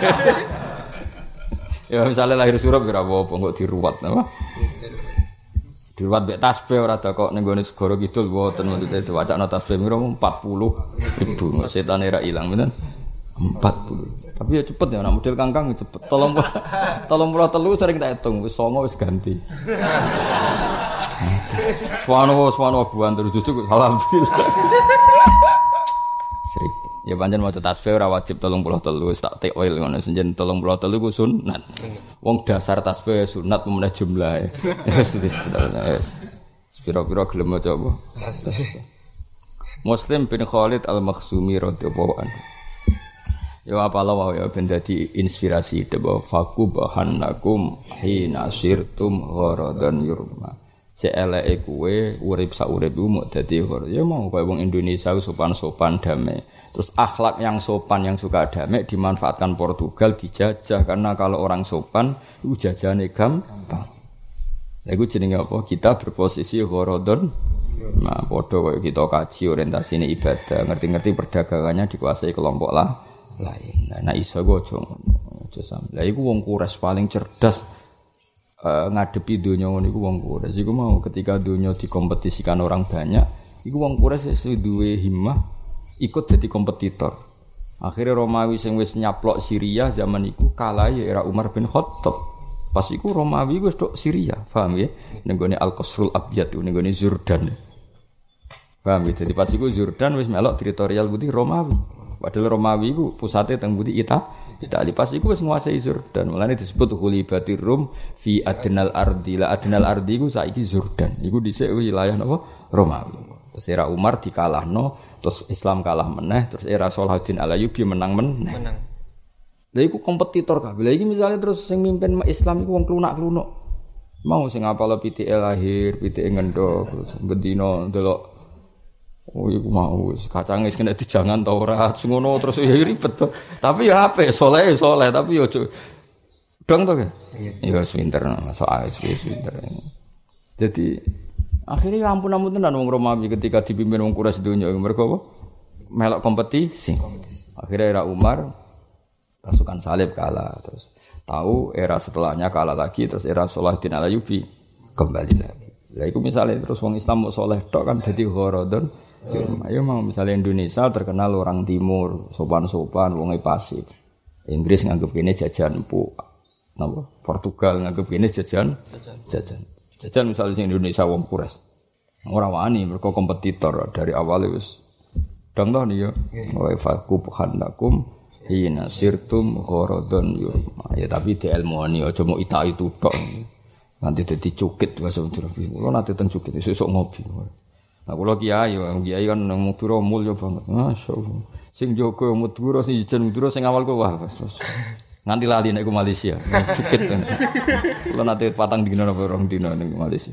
Speaker 1: Ya misalnya lahir surup kira apa kok diruwat apa? Diruwat mek tasbih ora kok ning gone segara kidul mboten maksudnya diwacana tasbih mira 40.000 setane ra ilang bener. 40. Tapi ya cepet ya, anak model kangkang cepet. Tolong sering tak hitung, wis 9 wis ganti. Subhanallah buan terus justru alhamdulillah. Sering. Ya pancen maca tasbih ora wajib 33 wis tak takwil ngono senjen 33 ku sunat. Wong dasar tasbih sunat memeneh jumlahe. Wis. Pira-pira gelem maca apa? Muslim bin Khalid Al-Makhzumi radhiyallahu anhu. Ya apalah wae ben dadi inspirasi debo faku bahannakum hina sirtum gharadan yurma. Celeke kowe urip sak uripmu mok dadi ya mau kowe wong Indonesia sopan-sopan damai. Terus akhlak yang sopan yang suka damai dimanfaatkan Portugal dijajah karena kalau orang sopan itu jajane gampang. Lha iku jenenge apa? Kita berposisi gharadun. Nah, padha koyo kita kaji orientasine ibadah, ngerti-ngerti perdagangannya dikuasai kelompok lain. Nah iso go aja sampe. Lah iku wong Quraisy paling cerdas ngadepi dunia ngono iku wong Quraisy iku mau ketika dunia dikompetisikan orang banyak iku wong Quraisy sing duwe himmah ikut jadi kompetitor. Akhirnya Romawi sing wis nyaplok Syria zaman iku kalah ya era Umar bin Khattab. Pas iku Romawi wis tok Syria, paham ya? Ning gone Al-Qasrul Abyad ning gone Jordan. Paham ya? Jadi pas iku Jordan wis melok teritorial putih Romawi. Padahal Romawi iku pusate teng putih Italia. Pas iku wis nguasai Jordan. Mulane disebut Khulibatir Rum fi adnal ardi. La adnal ardi iku saiki Jordan. Iku dhisik wilayah napa? Romawi. Terus era Umar dikalahno, terus Islam kalah meneh, terus era Salahuddin Al-Ayyubi menang meneh. Lha iku kompetitor kabeh. Lha iki misale terus sing mimpin Islam iku wong klunak-klunuk. Mau sing apal pitike lahir, pitike ngendhog, terus bendina ndelok oh iku mau kacang wis kena dijangan ta ora ngono terus ya ribet to. Tapi ya apik saleh tapi yo dong to. Iya wis pinter soal wis pinter. Jadi akhirnya ampun tenan wong Romawi ketika dipimpin wong Quraisy donya mereka apa? Melok kompetisi. Akhirnya era Umar pasukan salib kalah terus tahu era setelahnya kalah lagi terus era Salahuddin Al-Ayyubi kembali lagi. Lah iku misale terus wong Islam mau saleh tok kan dadi gharadun. Ayo mau misalnya Indonesia terkenal orang timur, sopan-sopan, wonge pasif. Inggris nganggep kene jajan empuk. Napa? Portugal nganggep kene jajan. Jajan misalnya Indonesia wong Quraisy. Ora wani mereka kompetitor dari awal wis dang to ya. Wa faqub khandakum hina sirtum gharadun ya tapi dielmoni aja mau itu tok. Nanti dadi cukit bahasa Jawa. Kulo nate teng cukit sesuk ngopi. Nah, kalau kiai kan Madura mulya banget. Masyaallah. Sing jaga Madura sing jen Madura sing awal ku wah. Nganti lali nek ku Malaysia. Cukit. Kulo nate patang dina apa rong dina ning Malaysia.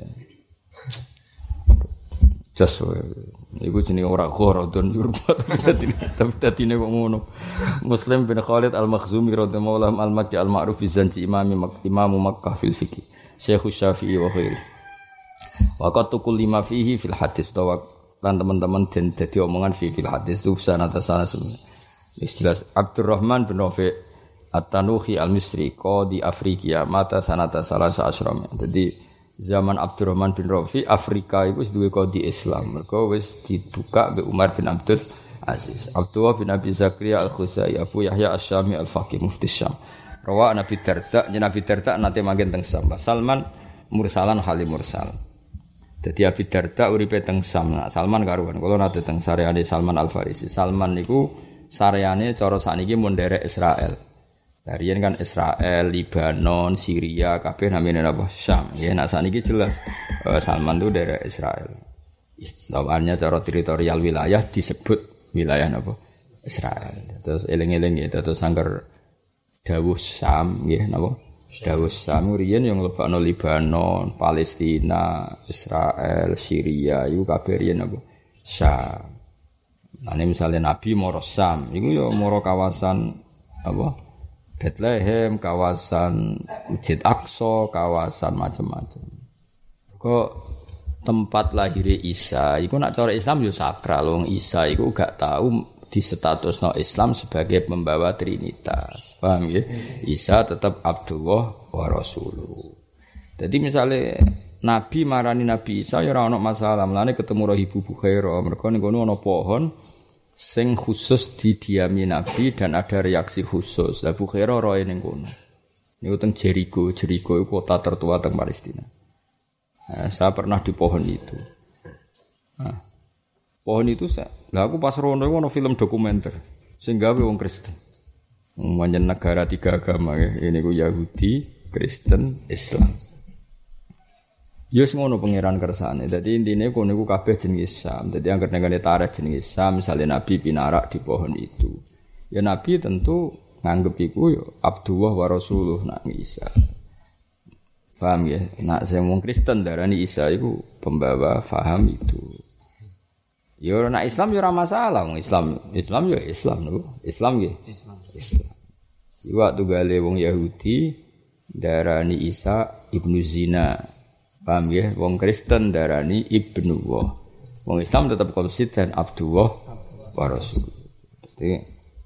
Speaker 1: Jas iku jenenge ora gharadun yurbat tapi dadine kok ngono. Muslim bin Khalid Al-Makhzumi radhiyallahu al-Makki al-ma'ruf bi zanji Imam Makkah fil fiqh. Syekh Syafi'i wa khairi. Waqat tukul lima fihi fil hadis tawa lan teman-teman den dadi omongan fil hadis itu sanata sanasun. Istilah Abdurrahman bin Rafi' At-Tanuhi Al-Misri qadi Afrika mata sanata salasa asram. Jadi zaman Abdurrahman bin Rafi' Afrika iku wis duwe qadi Islam. Mergo wis dibuka mbek Umar bin Abdul Aziz. Abdullah bin Abi Zakaria Al-Khuzai Abu Yahya Asy-Syami Al-Faqih Mufti Syam. Rawa Nabi Darda, Nabi Darda nate manggen teng Syam. Salman mursalan halim mursal. Jadi Abi Darda uripe teng Syam. Nah, Salman karuan. Kalau nate teng sareane Salman Al Farisi. Salman niku sareane cara sakniki mun nderek Israel. Darian kan Israel, Libanon, Syria, kabeh namine apa? Syam. Ya nek sakniki jelas Salman itu nderek Israel. Istilahnya cara teritorial wilayah disebut wilayah apa? Israel. Terus eling-eling ya terus sangger dawuh Syam nggih napa? Dawuh Syam riyen yang lebakno Libanon, Palestina, Israel, Syria iku kabeh riyen apa? Syam. Nah, misalnya Nabi moro Syam, iku ya moro kawasan apa? Bethlehem, kawasan Masjid Aqsa, kawasan macam-macam. Kok tempat lahir Isa iku nak cara Islam yo sakral, wong Isa iku gak tahu di status no Islam sebagai pembawa Trinitas, paham ya? Isa tetap Abdullah wa Rasuluh. Jadi misalnya Nabi marani Nabi Isa ya ora ono masalah, mulane ketemu Ibu Bukhaira, mergo ning kono ana pohon sing khusus didiami Nabi dan ada reaksi khusus. Lah Bukhaira roe ning kono. Niku teng Jericho iku kota tertua teng Palestina. Nah, saya pernah di pohon itu. Nah, pohon itu lah aku pas rono iku ono film dokumenter sing gawe wong Kristen. Manjen negara tiga agama ya. Ini ku Yahudi, Kristen, Islam. Yes ngono pangeran kersane. Dadi intine kono iku kabeh jenenge Islam. Dadi anggere nengane tarikh jenenge Islam, misale Nabi pinarak di pohon itu. Ya Nabi tentu nganggep iku ya Abdullah wa Rasuluh nak Isa. Paham ya? Nak sing wong Kristen darani Isa iku pembawa faham itu. Ya nak Islam ya ora masalah, wong Islam ya Islam lho. Islam ya. Islam. Iku waktu gale wong Yahudi darani Isa ibnu Zina. Paham ya? Wong Kristen darani Ibnu Allah. Wong Islam tetap konsisten Abdullah wa Rasul. Jadi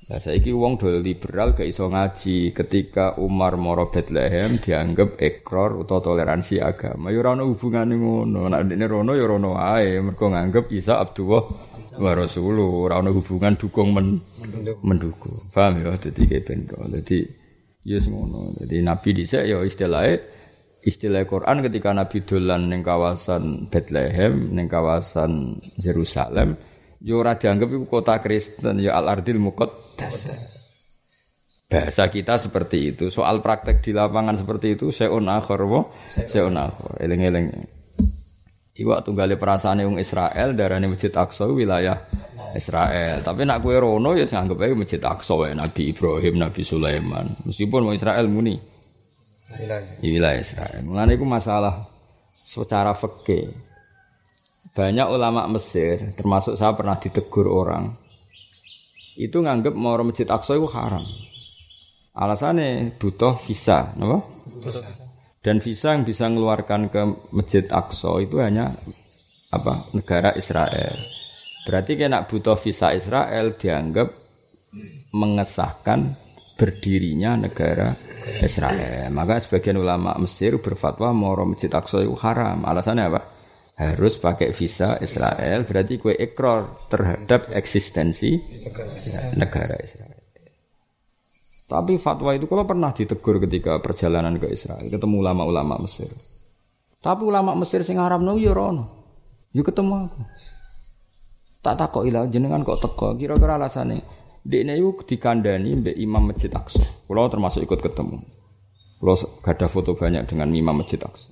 Speaker 1: Lah saiki wong do liberal gak iso ngaji ketika Umar moro Bethlehem dianggap ekor utawa toleransi agama. Ya ora ono hubungane ngono. Nek ndekne rono ya rono ae mergo nganggep Isa Abdullah wa Rasulullah, ora ono hubungan dukung mendukung. Paham ya dadi kependo. Dadi ya ngono. Dadi Nabi dhisik ya istilah Quran ketika Nabi dolan ning kawasan Bethlehem, ning kawasan Yerusalem, ya ora dianggap iku kota Kristen, ya Al-Ardil Muqaddas. Bahasa kita seperti itu. Soal praktek di lapangan seperti itu seun akhir seun akhir. Eling-eling. Iwak tunggale perasaane wong Israel darane Masjid Aqsa wilayah Israel. Tapi nak kowe rono ya anggap ae Masjid Aqsa wae Nabi Ibrahim, Nabi Sulaiman. Meskipun wong Israel muni wilayah Israel. Mulane iku masalah secara fikih. Banyak ulama Mesir, termasuk saya pernah ditegur orang, itu nganggep mau Masjid Aqsa itu haram. Alasannya butuh visa, apa? Dan visa yang bisa mengeluarkan ke Masjid Aqsa itu hanya apa? Negara Israel. Berarti kena butuh visa Israel dianggap mengesahkan berdirinya negara Israel. Maka sebagian ulama Mesir berfatwa mau Masjid Aqsa itu haram. Alasannya apa? Harus pakai visa Israel, berarti kue ikrar terhadap eksistensi negara Israel. Tapi fatwa itu kalau pernah ditegur ketika perjalanan ke Israel, ketemu ulama-ulama Mesir. Tapi ulama Mesir sing haramno yo rono. Yo ketemu aku. Tak takoki lah jenengan kok teko, kira-kira alasane. Dekne iku dikandani mbek Imam Masjid Aqsa. Kula termasuk ikut ketemu. Kula gadah foto banyak dengan Imam Masjid Aqsa.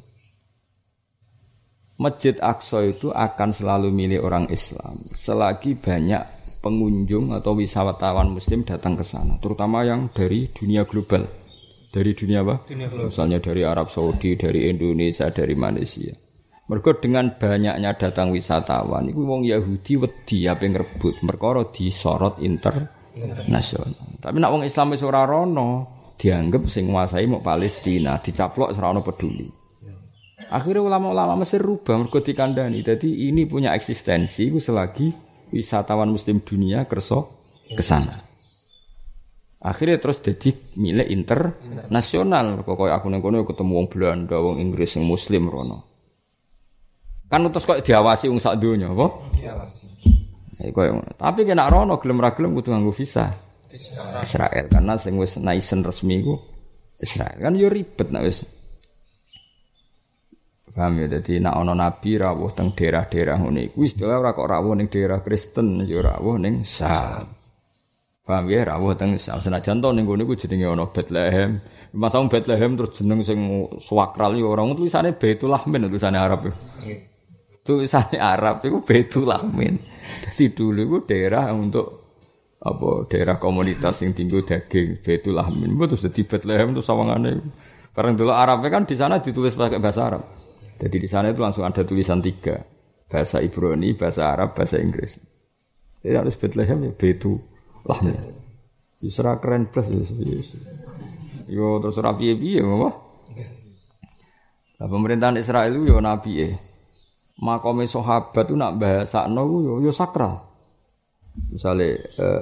Speaker 1: Masjid Aqsa itu akan selalu milik orang Islam selagi banyak pengunjung atau wisatawan muslim datang ke sana, terutama yang dari dunia global. Dari dunia apa? Dunia global. Misalnya dari Arab Saudi, dari Indonesia, dari Malaysia. Mergo dengan banyaknya datang wisatawan, iku wong Yahudi wedi ape ngrebut, perkara disorot internasional. Tapi nek wong Islam wis ora rono, dianggap sing nguasai mok Palestina, dicaplok ora ono peduli. Akhirnya ulama-ulama Mesir rubah mergo dikandani. Jadi ini punya eksistensi selagi wisatawan muslim dunia kerso ke sana. Akhirnya terus jadi milik internasional. Kok aku nang kono ketemu wong Belanda, wong Inggris yang muslim rono. Kan terus kok diawasi wong sak donya, apa? Diawasi. Tapi kena rono gelem ra gelem kudu nganggo visa Israel karena sing wis nation resmi iku Israel. Kan yo ribet nek wis. Paham ya, jadi nak ono nabi rawuh teng daerah-daerah ngene iku istilah ora kok rawuh ning daerah Kristen ya rawuh ning Sam. Paham ya, rawuh teng Sam. Senajan to ning ngene iku jenenge ono Bethlehem. Masang Bethlehem terus jeneng sing swakral ya ora tulisane Baitul Lahmin tulisane Arab. Tulisane Arab iku Baitul Lahmin. Jadi dulu iku daerah untuk apa daerah komunitas sing tinggal daging Baitul Lahmin. Terus dadi Bethlehem terus sawangane. Bareng dulu Arabnya kan di sana ditulis pakai bahasa Arab. Jadi di sana itu langsung ada tulisan 3. Bahasa Ibrani, bahasa Arab, bahasa Inggris. Jadi harus Bethlehem ya Baitul Lahmin. Yusra keren plus. Yo terus rapi-rapi ya apa? Nah, pemerintahan Israel itu yo nabi Makome sahabat itu nak bahasakno yo sakral. Misale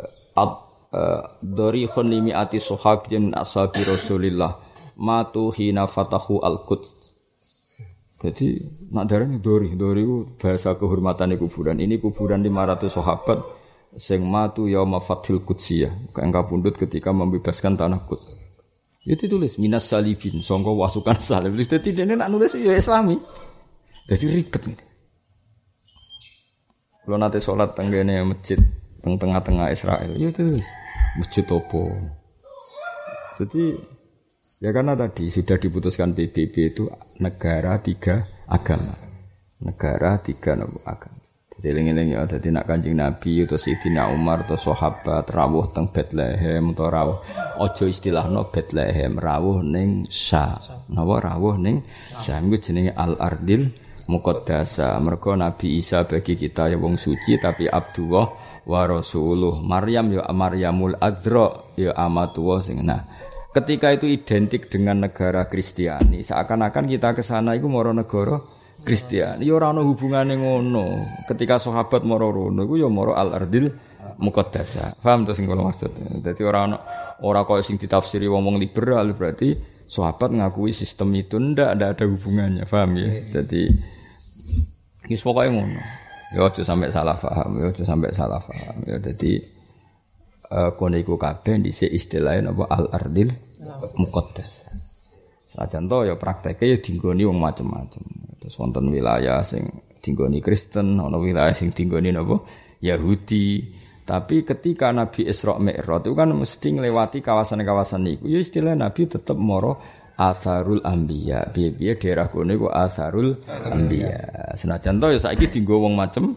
Speaker 1: darikhun limiati sahabin ashabi Rasulillah matu hina fatahu al-Quds. Jadi nak darane dori itu bahasa kehormatan kuburan. Ini kuburan 500 sahabat sing matu yauma fathil Qudsiyah, kang kapundhut ketika membebaskan tanah Quds. Itu tulis minas salibin, sangka wasukan salib. Dadi dene nak nulis ya Islami. Jadi ribet. Kalau nate salat teng kene masjid teng tengah-tengah Israel, ya tulis masjid opo. Jadi ya karena tadi sudah diputuskan PBB itu negara 3 agama. Negara 3 agama. Jadi eling-eling ya dadi nak Kanjeng Nabi atau Sayyidina Umar atau sahabat rawuh teng Bethlehem atau rawuh aja istilahno Bethlehem, rawuh ning Syam. Napa rawuh ning Syam iku jenenge Al-Ardil Muqaddasa. Mergo Nabi Isa bagi kita ya wong suci tapi Abdullah wa Rasuluh. Maryam ya Maryamul Adzra ya amatullah sing ketika itu identik dengan negara Kristiani, seakan-akan kita ke sana iku moro negara Kristiani. Ya ora ono hubungane ngono. Ketika sahabat moro rono iku ya moro Al-Ardil muqaddasah. Paham to sing kula maksud. Dadi ora koyo sing ditafsiri wong-wong liberal berarti sahabat ngakui sistem itu ndak ada hubungannya, paham ya? Jadi wis pokoke ngono. Ya aja sampai salah paham, ya jadi kono iku kabeh dhisik istilahé napa al-ardil muqaddasah. Sajan to ya prakteke ya dinggoni wong macam-macam. Terus wonten wilayah sing dinggoni Kristen, ana wilayah sing dinggoni napa Yahudi. Tapi ketika Nabi Isra Mi'raj itu kan mesti nglewati kawasan-kawasan niku. Ya istilah Nabi tetap moro asarul anbiya. Piye-piye daerah kono iku asarul anbiya. Senajan to ya saiki dienggo wong macem,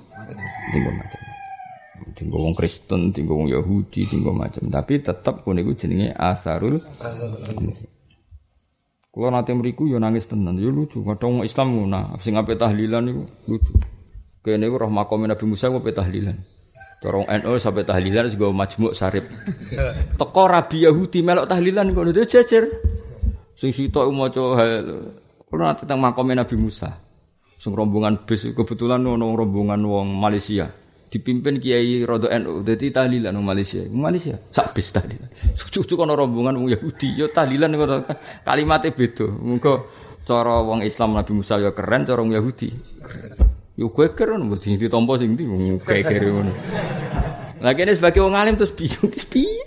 Speaker 1: dienggo wong Kristen, dienggo wong Yahudi, dienggo macam. Tapi tetap kono iku jenenge asarul anbiya. Kula nate mriku ya nangis tenan, ya lucu. Kadang wong Islam ngono, sing ape tahlilan iku lucu. Kene iku roh makome Nabi Musa ape tahlilan. Dorong NU sampai tahlilan juga majmuk sarip. Teko rabi Yahudi melok tahlilan kok dia jejer. Sing sitok maca kulo nate teng makome Nabi Musa. Sing rombongan bis kebetulan ono rombongan wong Malaysia. Dipimpin Kiai Rodo NU. Dadi tahlilan wong Malaysia. Malaysia sak bis tahlilan. Cucu kono rombongan wong Yahudi yo tahlilan kok kalimate beda. Muga cara wong Islam Nabi Musa yo keren, cara wong Yahudi keren. Yo geger ngono mesti ditampa sing ndi geger ngono. Lah kene sebagai wong alim terus bingung piye.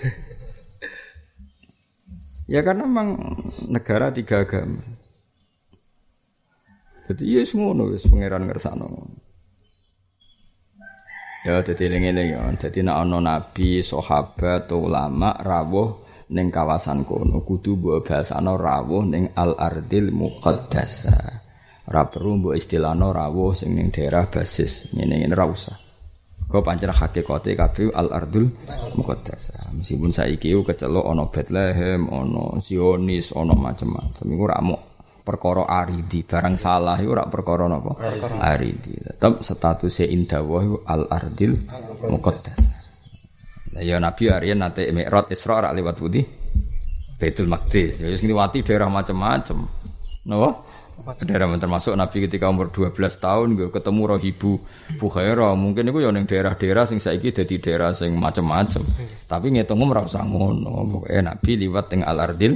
Speaker 1: Ya karena memang negara 3 agama. Jadi ya ngono wis pangeran ngersakno. Ya dadi eling-eling ya. Dadi nek ana nabi, sahabat, ulama rawuh ning kawasan kono kudu mbok basana rawuh ning al-ardil muqaddasah. Ora perlu mbok istilahno rawuh sing ning daerah basis ngene-ngene ora usah. Kok pancen hakikate kabeh al-ardul muqaddasah. Meskipun saiki kecelok ana Bethlehem, ana Zionis, ana macam-macam. Iku ora mok perkara aridi, barang salah iku ora perkara napa? Aridi. Tetep statuse indawah al-ardil muqaddasah. Lah ya Nabi Aryan nate Mi'raj Isra ora liwat putih Baitul Maqdis. Ya wis ngliwati daerah macam-macam. Napa? Daerah termasuk Nabi ketika umur 12 tahun ketemu Rahibu Bukhaira, mungkin itu ya ning daerah-daerah sing saiki dadi daerah sing macam-macam. Tapi ngitung ora usah ngono. Pokoke Nabi liwat teng al-ardil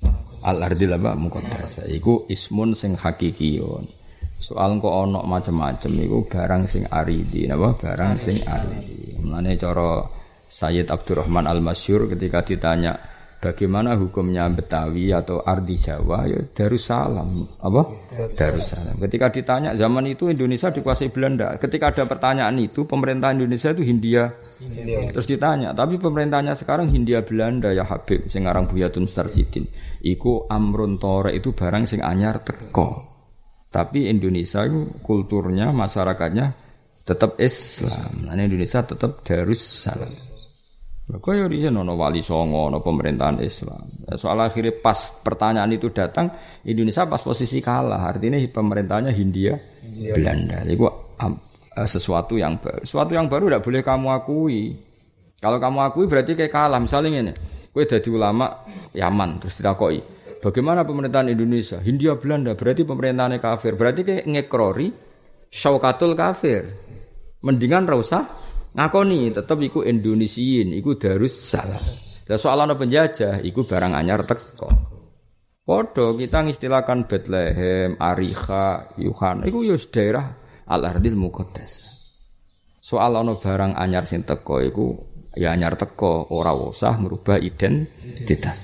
Speaker 1: apa muqaddasah. Iku ismun sing hakikiyun. Soal kok ana macam-macam iku barang sing aridi, napa? Barang sing aridi. Mulane cara Sayyid Abdurrahman Al-Masyhur ketika ditanya bagaimana hukumnya Betawi atau Ardi Jawa ya Darussalam apa? Darussalam. Ketika ditanya zaman itu Indonesia dikuasai Belanda. Ketika ada pertanyaan itu pemerintah Indonesia itu Hindia. Terus ditanya, tapi pemerintahnya sekarang Hindia Belanda ya Habib sing aran Buya Tun Starsidin. Iku amrun tore itu barang sing anyar teko. Tapi Indonesia itu kulturnya masyarakatnya tetap Islam. Nah, Indonesia tetap Darussalam. Kaya riyen ana wali songo ana pemerintahan Islam. Soal akhirnya pas pertanyaan itu datang Indonesia pas posisi kalah. Artinya pemerintahnya Hindia Belanda. Itu sesuatu yang baru. Sesuatu yang baru tidak boleh kamu akui. Kalau kamu akui berarti kayak kalah. Misalnya ini, kowe dadi ulama Yaman terus ditakoki, bagaimana pemerintahan Indonesia? Hindia Belanda berarti pemerintahannya kafir. Berarti kayak ngekrori syaukatul kafir. Mendingan ra usah ngakoni tetep iku Indonesiin, iku Darussalam. Lah soal ana penjajah iku barang anyar teko. Padha kita ngistilahkan Bethlehem, Ariha, Yuhan, iku ya daerah al-ardil muqaddas. Soal ana barang anyar sing teko iku ya anyar teko, ora usah merubah identitas.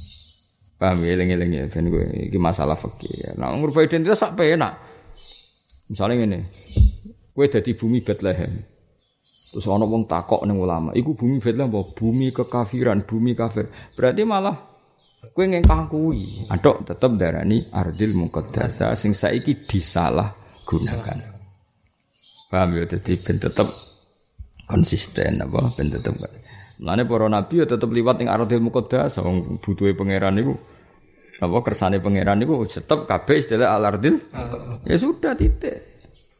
Speaker 1: Paham ya eling-eling ben kowe iki masalah fikih. Nah, merubah identitas sak penak. Misalnya ngene. Kowe dadi bumi Bethlehem. Terus ana wong takok ning ulama, iku bumi Bethlehem apa? Bumi kekafiran, bumi kafir. Berarti malah kowe ngengkang kuwi. Adok tetep darani ardil muqaddasah sing saiki disalah gunakan. Paham ya dadi ben tetep konsisten apa ben tetep. Mulane para nabi ya tetep liwat ning ardil muqaddasah wong butuhe pangeran niku. Apa kersane pangeran niku tetep kabeh istilah al-ardil. Ya sudah titik.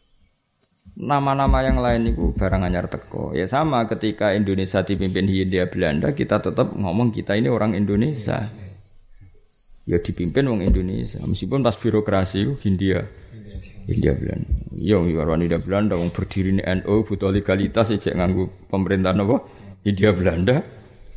Speaker 1: Nama-nama yang lain itu barang anyar teko. Ya sama ketika Indonesia dipimpin Hindia Belanda, kita tetap ngomong kita ini orang Indonesia. Ya dipimpin orang Indonesia. Meskipun pas birokrasi Hindia India Belanda. Yo warwani India Belanda wong berdiri NU butuh legalitas cek nganggo pemerintahan apa? India Belanda.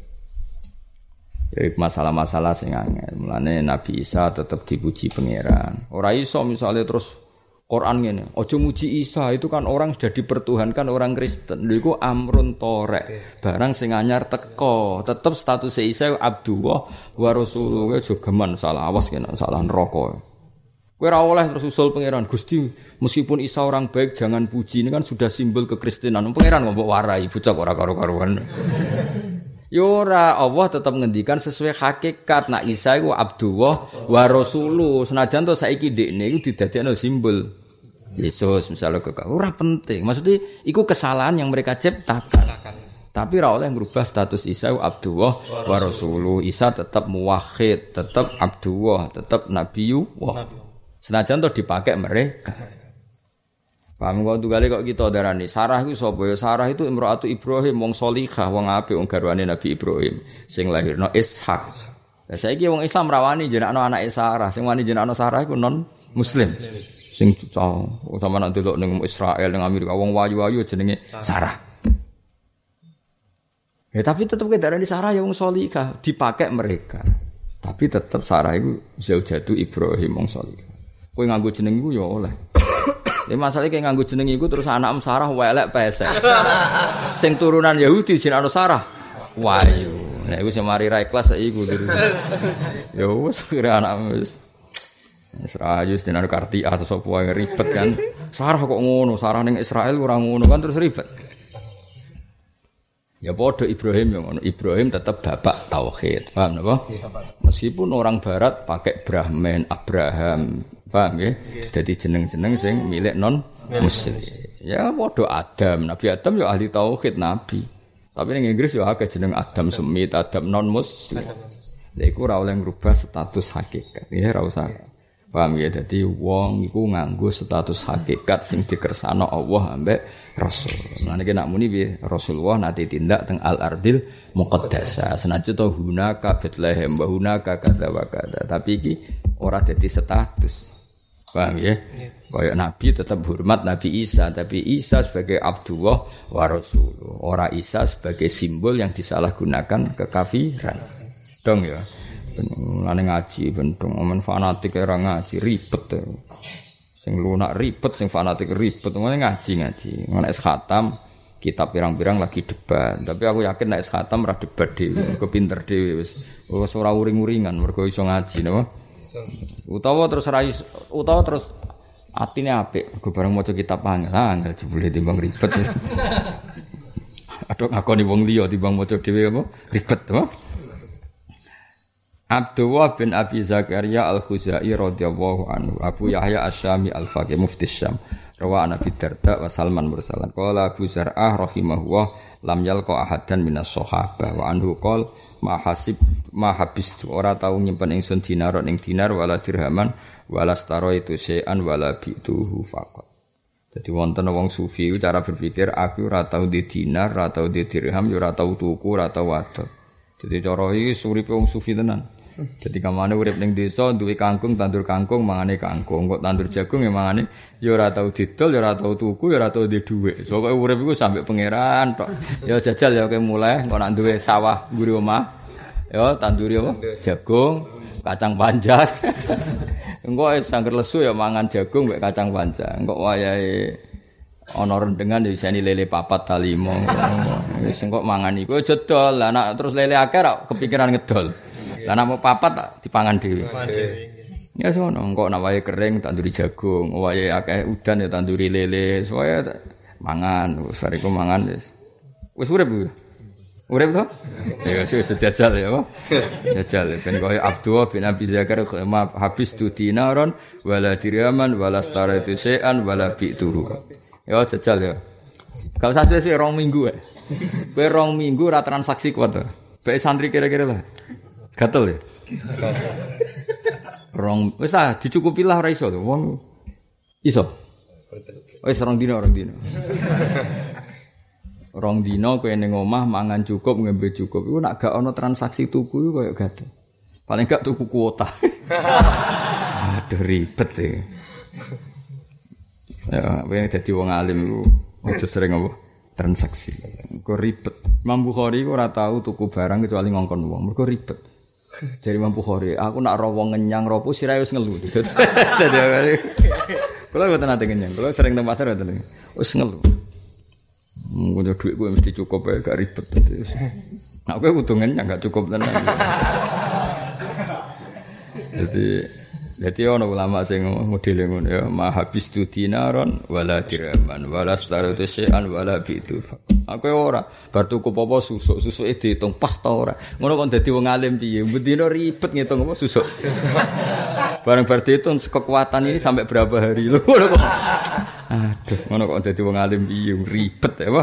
Speaker 1: Ya masalah-masalah sing angel. Mulane Nabi Isa tetap dipuji pangeran. Ora iso misalnya terus Quran ngene, aja muji Isa itu kan orang sudah dipertuhankan orang Kristen. Lha iku amrun torek. Barang sing anyar teko, tetep status Isa Abdullah wa Rasulullah jogeman salah awas kena salah neraka. Kowe ora oleh terus usul pangeran, Gusti, meskipun Isa orang baik jangan puji, ini kan sudah simbol kekristenan. Pangeran ngomong warai bocah ora karo-karuan. Ya ora, Allah tetap ngendikan sesuai hakikat. Nak Isa iku Abdullah wa Rasuluh. Senajan to saiki dekne iku didadekno simbol Yesus misalnya ora penting. Maksudnya iku kesalahan yang mereka ciptakan. Tapi ora oleh ngrubah status Isa Abdullah wa Rasuluh. Isa tetap muwahhid, tetap Abdullah, tetap Nabiyullah. Senajan to dipakai mereka. Paham kok tugale kok kita darani Sarah iku sapa ya? Sarah itu imraatu Ibrahim wong salihah, wong apik, wong garwane Nabi Ibrahim sing lahirno Ishak. Lah saiki wong Islam rawani jenakno anake Sarah, sing wani jenakno Sarah iku non muslim. Sing sama nak delok ning Israel ning Amerika wong wayu-wayu jenenge Sarah. Ya tapi tetep ke darani Sarah ya wong salihah, dipakai mereka. Tapi tetep Sarah iku zaujatu Ibrahim wong salihah. Kowe nganggo jeneng iku ya oleh. Ya masalahnya kayak nganggo jeneng iku terus anak Sarah welek pesek. Sing turunan Yahudi jenenge Sarah Wahyu. Nek iku sing mari ra ikhlas iku terus. Ya wis kira anak wis. Israel jenenge Kartia atau sapa wae ribet kan. Sarah kok ngono, Sarah ning Israel ora ngono kan terus ribet. Ya padha Ibrahim yang ngono. Ibrahim tetap bapak tauhid. Paham napa? Meskipun orang barat pakai Brahman, Abraham, paham ya? Jadi jeneng-jeneng sing milik non muslim. Ya padha Adam, Nabi Adam ya ahli tauhid nabi. Tapi ning Inggris ya akeh jeneng Adam Semit, Adam non muslim. Lha iku ora oleh ngrubah status hakikat. Ya ora usah. Paham ya? Dadi wong iku nganggo status hakikat sing dikersakno Allah ambek Rasul. Lan iki nak muni piye? Rasulullah nate tindak teng al-ardil muqaddasah. Senajan to hunaka Bethlehem, hunaka kadza wa kadza. Tapi iki ora dadi status. Paham ya? Kayak Nabi tetap hormat Nabi Isa, tapi Isa sebagai Abdullah wa Rasulullah. Ora Isa sebagai simbol yang disalahgunakan kekafiran. Dong ya. Lane ngaji bentong omen fanatik ora ngaji ribet. Sing lunak ribet, sing fanatik ribet. Ngene ngaji. Ngono es khatam kitab pirang-pirang lagi debat. Tapi aku yakin nek es khatam ora debat dhewe, kepinter dhewe wis ora uring-uringan mergo iso ngaji napa. Utawa terus atine apik, go bareng maca kitab angel jebule timbang ribet. Aduh ngakoni wong liya timbang maca dhewe apa ribet apa. Abdullah bin Abi Zakaria Al-Khuzai radhiyallahu anhu, Abu Yahya Asy-Syami Al-Faqih mufti Syam, rawa Nabi Darda wa Salman mursalan. Qala Abu Zar'ah rahimahullah lam yalqa ahadan minas sahabah wa anhu qol ma habistu ora tau nyimpen ingsun dinar ning dinar wala dirhaman wala staraitu syai'an wala bi'tuhu faqat. Jadi wonten wong sufi cara berpikir aku ora tau di dinar, ora tau di dirham, ora tau tuku, ora tau wadon. Jadi cara iki uripe wong sufi tenan. Jadi kamane urip ning desa duwe kangkung, tandur kangkung, mangane kangkung. Kok tandur jagung ya mangane ya ora tau didol, ya ora tau tuku, ya ora tau di dhuwit. Pokoke urip iku sampe pangeran tok. Ya jajal ya kowe mulai kok nak duwe sawah mburi omah. Ya tanduri apa? Jagung, kacang panjang. Engko wis sangger lesu ya mangan jagung mek kacang panjang. Engko wayahe ana rendengan ya iseni lele papat ta 5. Wis engko mangan iku aja dol. Lah nek terus lele akeh ra kepikiran ngedol. Lah nek mau papat tak dipangan dhewe. Ya sono, engko nek wayahe kering tanduri jagung, wayahe akeh udan ya tanduri lele, supaya mangan, wis bariku mangan wis. Wis urip ku. Urip to? Ya wis jajal ya, apa? Jajal ben koyo Abdullah bin Abi Zakaria habis tu dinaron wala dirhaman wala staraitu syai'an wala bi'tuhu. Ya jajal ya. Gak usah wis 2 minggu ae. Kowe 2 minggu ora transaksi kuat to. Bae santri kira-kira lah. Gatel ya. Wis dicukupi lah ora iso to. Wong iso. Wis 2 dina. 2 dina kowe ning omah mangan cukup, ngembe cukup. Iku nek gak ana transaksi tuku iku koyo gatel. Paling gak tuku kuota. Aduh ribet e. Ya, pengen dadi wong alim iku aja sering apa transaksi. Kok ribet. Imam Bukhari ku ora tau tuku barang kecuali ngongkon wong. Mergo ribet. Jadi Imam Bukhari, aku nak ro wong ngenyang ro pusir ae wis ngelu. Dadi kula mboten nate ngenyang. Kula sering teng pasar mboten. Wis ngelu. Ngono dhuwit kuwi mesti cukup ae gak ribet. Nek kowe kudu ngenyang gak cukup tenan. Jadi ana ulama sing modele ngono ya, mahabis tu dinaron wala dirhaman wala staratu syai'an wala bitu. Aku ora bar tuku apa susuk-susuke diitung pas ta ora. Ngono kok dadi wong alim piye? Bendina ribet ngitung apa susuk. Bareng bar diitung kekuatan ini sampai berapa hari lho. Ngono kok. Aduh, ngono kok dadi wong alim piye ribet ya apa?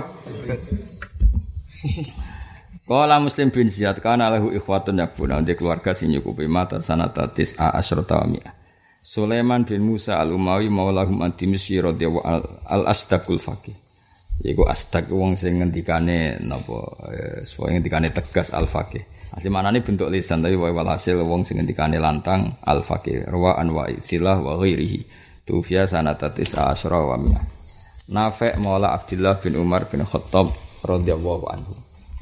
Speaker 1: Qala Muslim bin Ziyad kana lahu ikhwatun yakbuna di keluarga sing nyukupi mata sanata tis'a asyrata wa mi'ah. Sulaiman bin Musa al-Umawi maulahum ad-Dimsyqi radhiyallahu al-Asdaqul faqih. Iku Asdaq wong sing ngendikane napa supaya ngendikane tegas al-faqih. Asli manane bentuk lisan tapi walhasil wong sing ngendikane lantang al-faqih. Rawaan wa istilah wa ghairihi. Tufiya sanata tis'a asyra wa mi'ah. Nafi' maula Abdullah bin Umar bin Khattab radhiyallahu anhu.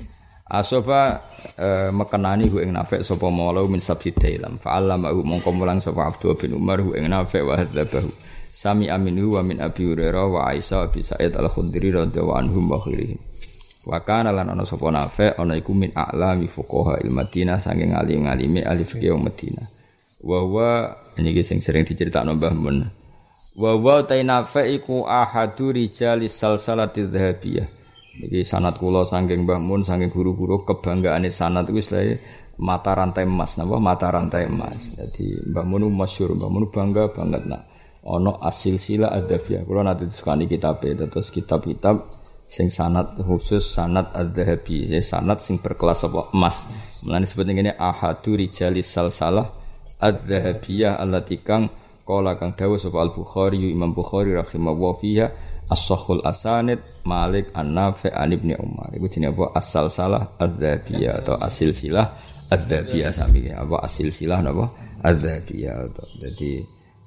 Speaker 1: Asofa mekenani hu ing Nafi' sapa maula min sabti dailam fa'allama hu mongko mulang sapa Abdullah bin Umar hu ing Nafi' wa hadzabahu sami aminu wa min Abi Hurairah wa Aisyah bi Sa'id al-Khudri radhiyallahu anhum wa khairihim wa kana lan ana sapa Nafi' ana iku min a'lami fuqaha il-Madinah saking alim-alime ahli fikih Madinah wa huwa niki sing sering diceritakno Mbah Mun wa huwa ta Nafi' iku ahadu rijalis salsalati dhahabiyah. Iki sanad kula saking Mbah Mun saking guru-guru kebanggaane sanad iku istilahé mata rantai emas napa mata rantai emas. Jadi Mbah Mun masyhur, Mbah Mun bangga banget nak ana asil-sila adabiyah. Kula nate disukani kitabe terus kitab-kitab sing sanad khusus sanad adzahabi, sanad sing berkelas apa emas. Mulane disebut ngene ahadu rijalis salsalah adzahabiyah allati kang qala kang dawuh sapa Al-Bukhari Imam Bukhari rahimahullah fiha as-sahhul asanid Malik an-Nafi' an Ibnu Umar. Iku jenenge apa? As-salsalah adz-dzhabiyah atau as-silsilah adz-dzhabiyah sami. Apa as-silsilah napa? Adz-dzhabiyah. Jadi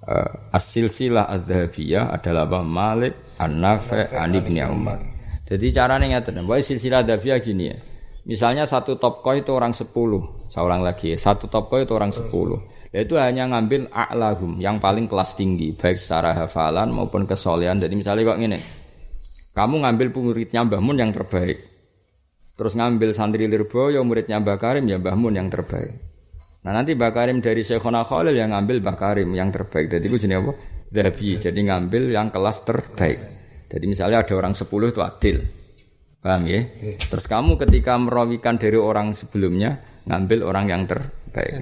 Speaker 1: as-silsilah adz-dzhabiyah adalah apa? Malik an-Nafi' an Ibnu Umar. Jadi carane ngaten. Wae silsilah adz-dzhabiyah gini ya. Misalnya satu topko itu orang 10. Saya ulang lagi ya. Satu topko itu orang 10. Itu hanya ngambil a'lahum yang paling kelas tinggi baik secara hafalan maupun kesolehan. Jadi misalnya kok ngene. Kamu ngambil muridnya Mbah Mun yang terbaik. Terus ngambil santri Lirboyo muridnya Mbah Karim ya Mbah Mun yang terbaik. Nah nanti Mbah Karim dari Syekhona Khalil yang ngambil Mbah Karim yang terbaik. Jadi itu jenis apa? Dhabi. Jadi ngambil yang kelas terbaik. Jadi misalnya ada orang 10 itu adil. Paham ya? Terus kamu ketika merawikan dari orang sebelumnya ngambil orang yang terbaik.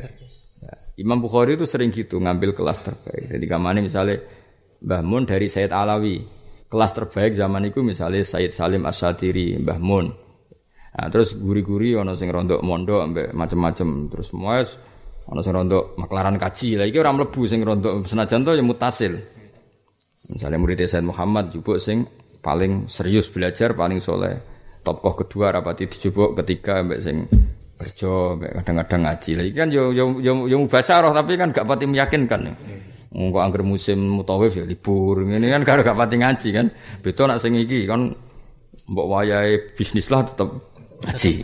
Speaker 1: Imam Bukhari itu sering gitu ngambil kelas terbaik. Jadi kamane misalnya Mbah Mun dari Sayyid Alawi. Kelas terbaik zaman itu misalnya Sayyid Salim As-Satiri, Mbah Mun. Nah, terus guri-guri ana sing rondok mondok ambek macam-macam. Terus semua ana sing rondok maklaran kaji. Lah iki ora mlebu sing rondok senajan to ya mutasil. Misalnya murid Sayyid Muhammad jupuk sing paling serius belajar, paling soleh. Tokoh kedua rapati dijupuk ketiga ambek sing kerja kadang-kadang ngaji. Lah iki kan yo mubasyarah tapi kan gak pati meyakinkan. Engko angger musim mutawif ya libur. Ngene kan karo gak pati ngaji kan. Beda nek sing iki kan mbok wayahe bisnis lah tetep ngaji.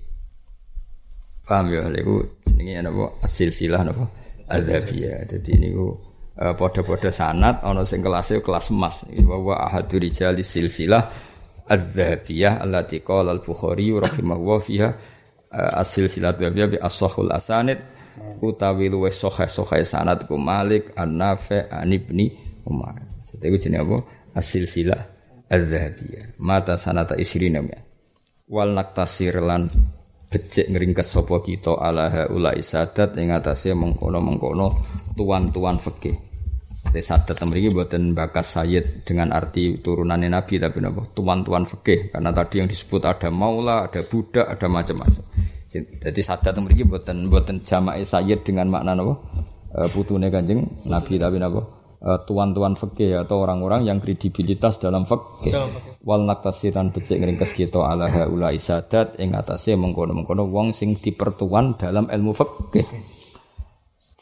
Speaker 1: Paham ya lha iku jenenge napa asil-silah napa adzabiyah. Dadi niku padha-padha sanad ana sing kelase kelas emas. Wa ahadu rijalis silsilah adzabiyah allati qala al-Bukhari rahimahullah fiha as-silsilah adzabiyah bi as-sahhul asanid utawi luwih sahih sanad ku Malik an-Nafi' an Ibni Umar. Iku jenenge apa? As-silsilah adz-dzahabiyah. Mata sanata isrina ya. Wal naktasir lan becik ngringkes sapa kita ala ulai sadat ing atase mengkono-mengkono tuan-tuan fikih. Sadat mriki mboten bakas sayyid dengan arti turunane Nabi tapi napa? Tuan-tuan fikih karena tadi yang disebut ada maula, ada budak, ada macam-macam. Jadi sadat mriki mboten jama'i sayyid dengan makna napa? Putune Kanjeng Nabi tapi napa? Tuan-tuan fikih atau orang-orang yang kredibilitas dalam fikih. Wal naktasiran becik ngringkes kita ala haula isadat ing atase mengkono-mengkono wong sing dipertuan dalam ilmu fikih.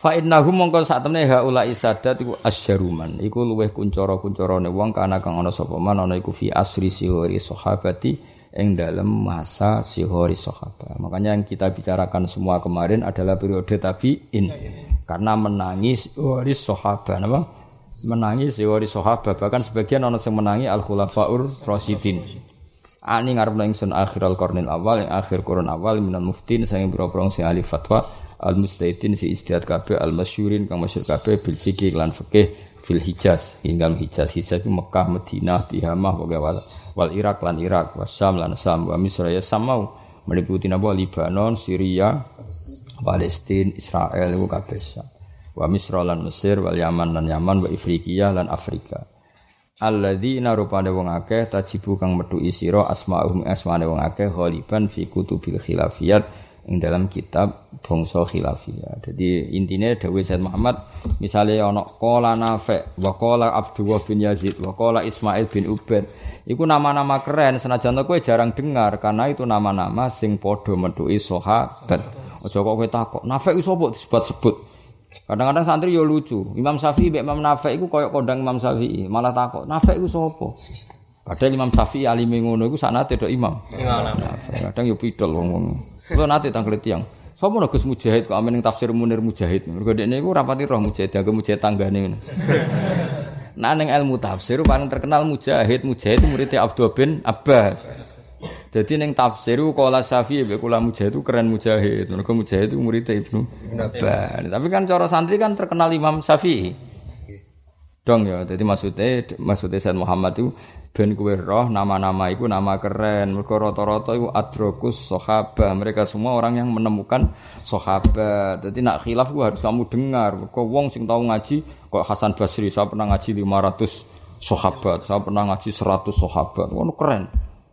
Speaker 1: Fa innahum mongko sak temene haula isadat iku asyaruman iku luweh kuncara-kuncarane wong kana kang ana sapa man ana iku fi asri sihori sahabati ing dalam masa sihori sahabat. Makanya yang kita bicarakan semua kemarin adalah periode tabi'in. Karena menangi sihori sahabat apa? Menangi sihori sahabat bahkan sebagian ana sing menangi al-khulafaur rasyidin. Ani ngarep ingsun akhiral qarnil awal yang akhir kurun awal minal muftin sing pira-pira sing ahli fatwa al-mustahidin si istihad kabeh al-masyhurin kang masyhur kabeh bil fikih lan fikih fil Hijaz hingga Hijaz itu Mekah, Madinah, Tihamah wal Irak lan Irak, Wasam lan Sam, wa Misra ya samau meliputi napa Libanon, Syria, Palestina, Israel iku kabeh Sam. Wa Misra lan Mesir, wal Yaman lan Yaman, wa Afrika lan Afrika. Alladzina rupane wong akeh tajibu kang metuki sira asma'uhum asmane wong akeh ghaliban fi kutubil khilafiyat ing dalam kitab bangsa khilafiyah. Jadi intinya dawuh Said Muhammad misalnya ana qala Nafi' wa qala Abdullah bin Yazid wa qala Ismail bin Ubaid iku nama-nama keren senajan kowe jarang dengar karena itu nama-nama sing padha metuki sahabat. Aja kok kowe takok Nafi' iku sapa disebut-sebut. Kadang-kadang santri yo lucu. Imam Syafi'i mek Imam Nafi' iku koyo kondang Imam Syafi'i, malah takok Nafi' iku sapa? Padahal Imam Syafi'i alime ngono iku sanate tok Imam. Nafi'. Kadang yo pidol wong-wong. Kulo nate tanglet tiyang. Sopo nek Gus Mujahid kok amening tafsir Munir Mujahid. Mergo dekne iku rapati roh Mujahid, agak Mujahid tanggane ngono. Nah ning ilmu tafsir paling terkenal Mujahid itu muridnya Abdul bin Abbas. Jadi ning tafsir qala Syafi'i mek kula Mujahid itu keren Mujahid. Mergo Mujahid itu muridnya Ibnu Abbas. Tapi kan cara santri kan terkenal Imam Syafi'i. Dong ya, jadi maksudnya Said Muhammad itu ben kowe roh nama-nama iku nama keren. Mergo rata-rata iku adrokus sahabat. Mereka semua orang yang menemukan sahabat. Jadi nak khilaf ku harus kamu dengar. Mergo wong sing tau ngaji kok Hasan Basri, saya pernah ngaji 500 sahabat, saya pernah ngaji 100 sahabat. Ngono keren.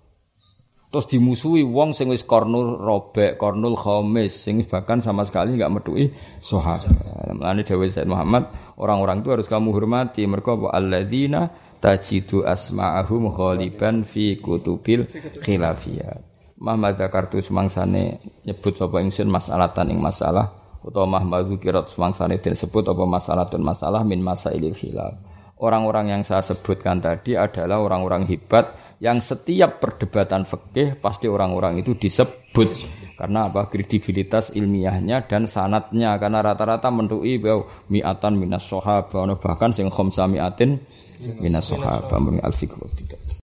Speaker 1: Terus dimusuhi wong sing wis qarnul robek, qarnul khamis sing bahkan sama sekali enggak metuki sahabat. Mulane dawuh Said Muhammad, orang-orang itu harus kamu hormati. Mergo alladzina tajidu asma'ahum ghaliban fi kutubil khilafiyat. Muhammad zakartu semangsane nyebut sapa ingsun masalatan ing masalah utawa Muhammad zukirat semangsane disebut apa masalatun masalah min masailil khilaf. Orang-orang yang saya sebutkan tadi adalah orang-orang hebat yang setiap perdebatan fikih pasti orang-orang itu disebut karena apa kredibilitas ilmiahnya dan sanadnya karena rata-rata mentuki mi'atan minas sahabah bahkan sing khamsa mi'atin minas sahabah mung al-fiqh